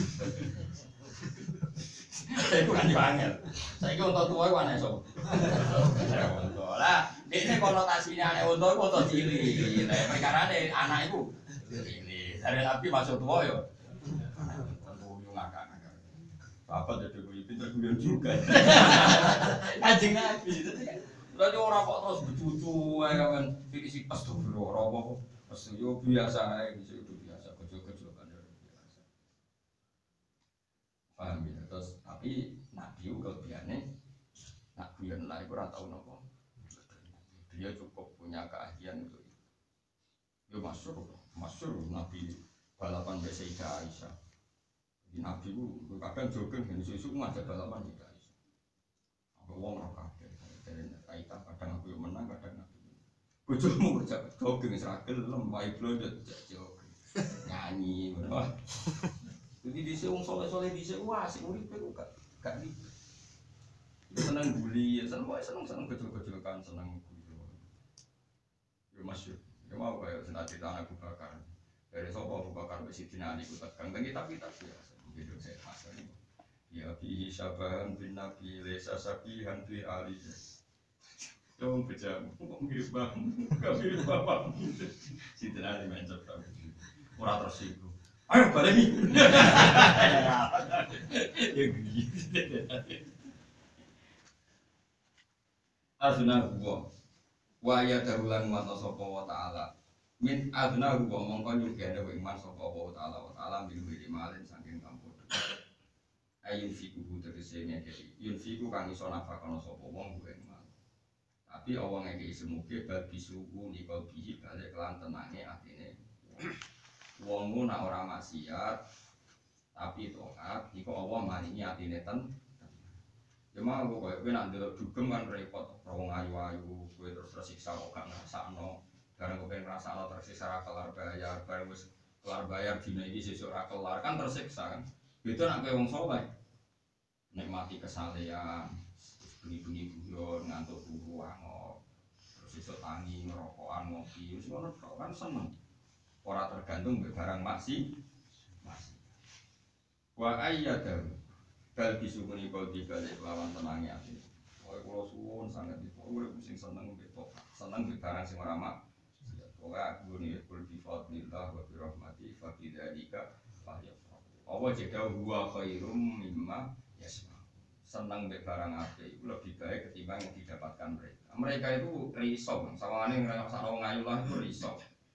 Iku kan yo angel. Saiki unta tuwa iku anake sapa? Unta. Lah, dene konotasine anake unta iku unta cilik. Lah perkarane anak iku cilik. Dari Nabi masuk tuwa yo. Yo ngakak-ngakak. Bapak jadi kuwi pinter guyon juga. Kanjeng Nabi. Berarti ora kok terus becucu ae kan fisik astagfirullah ora apa-apa. Wes yo biasa ae bisa itu biasa kecil-kecil kan biasa. Paham ya? Terus tapi Nabi ku kelebihane nak guyon lah iku ora tau napa. dia cukup punya keahlian untuk itu. Ya masyhur, masyhur Nabi balapan mbek Sayyidah Aisyah. Di Nabi ku kadang jogging ben isu-isu ngajak balapan Sayyidah Aisyah. Aku wong ora kabeh. Dari Aisyah kadang aku yang menang, kadang aku. Bojomu ngajak jogging wis ra gelem, wae blondet jogging. Nyanyi ngono. Jadi dhisik wong saleh-saleh dhisik wah asik uripe ku gak gak ribet. Seneng bully, seneng wae seneng-seneng gejol-gejolkan, seneng guyu. Yo masyhur. Ya mau kaya senat cerita Abu Bakar. Dari sapa Abu Bakar wis sidina Ali ku tegang teng kitab-kitab ya. Gitu saya hasil ini. Ya bi syabahan bin Nabi lesa sabihan bi Ali. Yo bejam, kok mirip bang, gak mirip bapak. Sidina Ali mencet ta. Ora tersinggung. Ayo baleni. Ya gitu. Azna huwa wa ya darulan wa sapa wa ta'ala min azna huwa mongko nyugene wa iman sapa wa ta'ala wa ta'ala min wili malin saking kampur ayun fiku tegese ngekeki yun fiku kang iso nafakono sapa wong kuwi iman tapi wong ngekeki semuge bal bisuku nika bihi balik lan tenange atine wong mu nak ora maksiat tapi taat iku Allah maringi atine ten cuma aku kayak gue nanti dugem kan repot, rawong ayu-ayu, gue terus tersiksa kok gak ngerasakno, karena gue pengen ngerasakno tersiksa rakelar bayar, bareng gue kelar bayar dina ini sesuk rakelar kan tersiksa kan, itu nak gue wong soleh, nikmati kesalehan, bengi-bengi guyon ngantuk turu angok, terus sesuk tangi ngerokokan ngopi, semua kan seneng, ora tergantung barang maksi, maksi, wa ayyadahu. Bal bisukuni kau dibalik lawan tenangnya hati. Oleh kalau suwon sangat itu, gue pusing seneng beto, seneng di barang sing ora mak. Pokoknya aku nih kul bifadlillah wa birahmati fabidalika falyafrahu. Allah jeda huwa khairum mimma yasma. Seneng di barang ape itu lebih baik ketimbang yang didapatkan mereka. Mereka itu risau, sawangannya ngerasa orang ngayulah itu risau.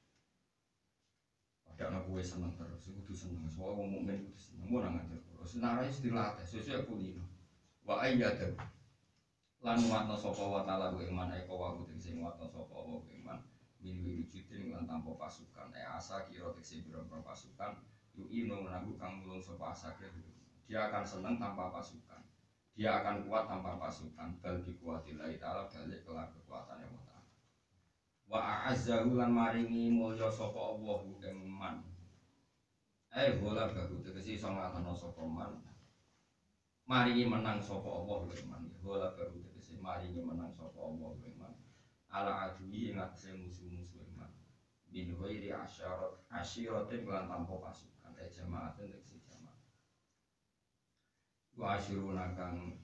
Padahal aku seneng terus, aku tuh seneng. Soalnya orang mukmin itu seneng, mau nangan terus. Senarai istilah tes, sesuai kulino. Wa ayyadu lan watna sapa wa ta'ala ku iman eko wa kudu sing watna sapa wa iman min wiridin lan tanpa pasukan e asa kira tekse biro pasukan yu ino menaku kang mulung sapa asa dia akan senang tanpa pasukan dia akan kuat tanpa pasukan bal bi kuwatillahi ta'ala balik kelar kekuatane wa ta'ala wa a'azzahu lan maringi mulya sapa Allah ing man eh bola bagus tegese iso nglakoni sapa man maringi menang sapa Allah iman bola bagus tegese maringi menang sapa Allah iman ala adui ing atase musuh-musuh iman bin ghairi asyarat asyiratin lan tanpa pasukan eh jamaatin tegese jamaah wa asyiruna kang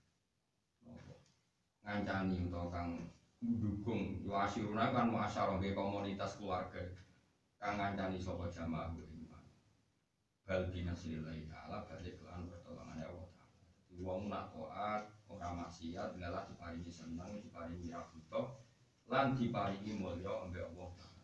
ngancani utawa kang mendukung wa asyiruna kan muasyarah ge komunitas keluarga kang ngancani sapa jamaah bal binasrillahi ta'ala balik lan pertolongan Allah ta'ala wong nak taat ora maksiat ngalah diparingi seneng diparingi rabuto lan diparingi mulya ambek Allah ta'ala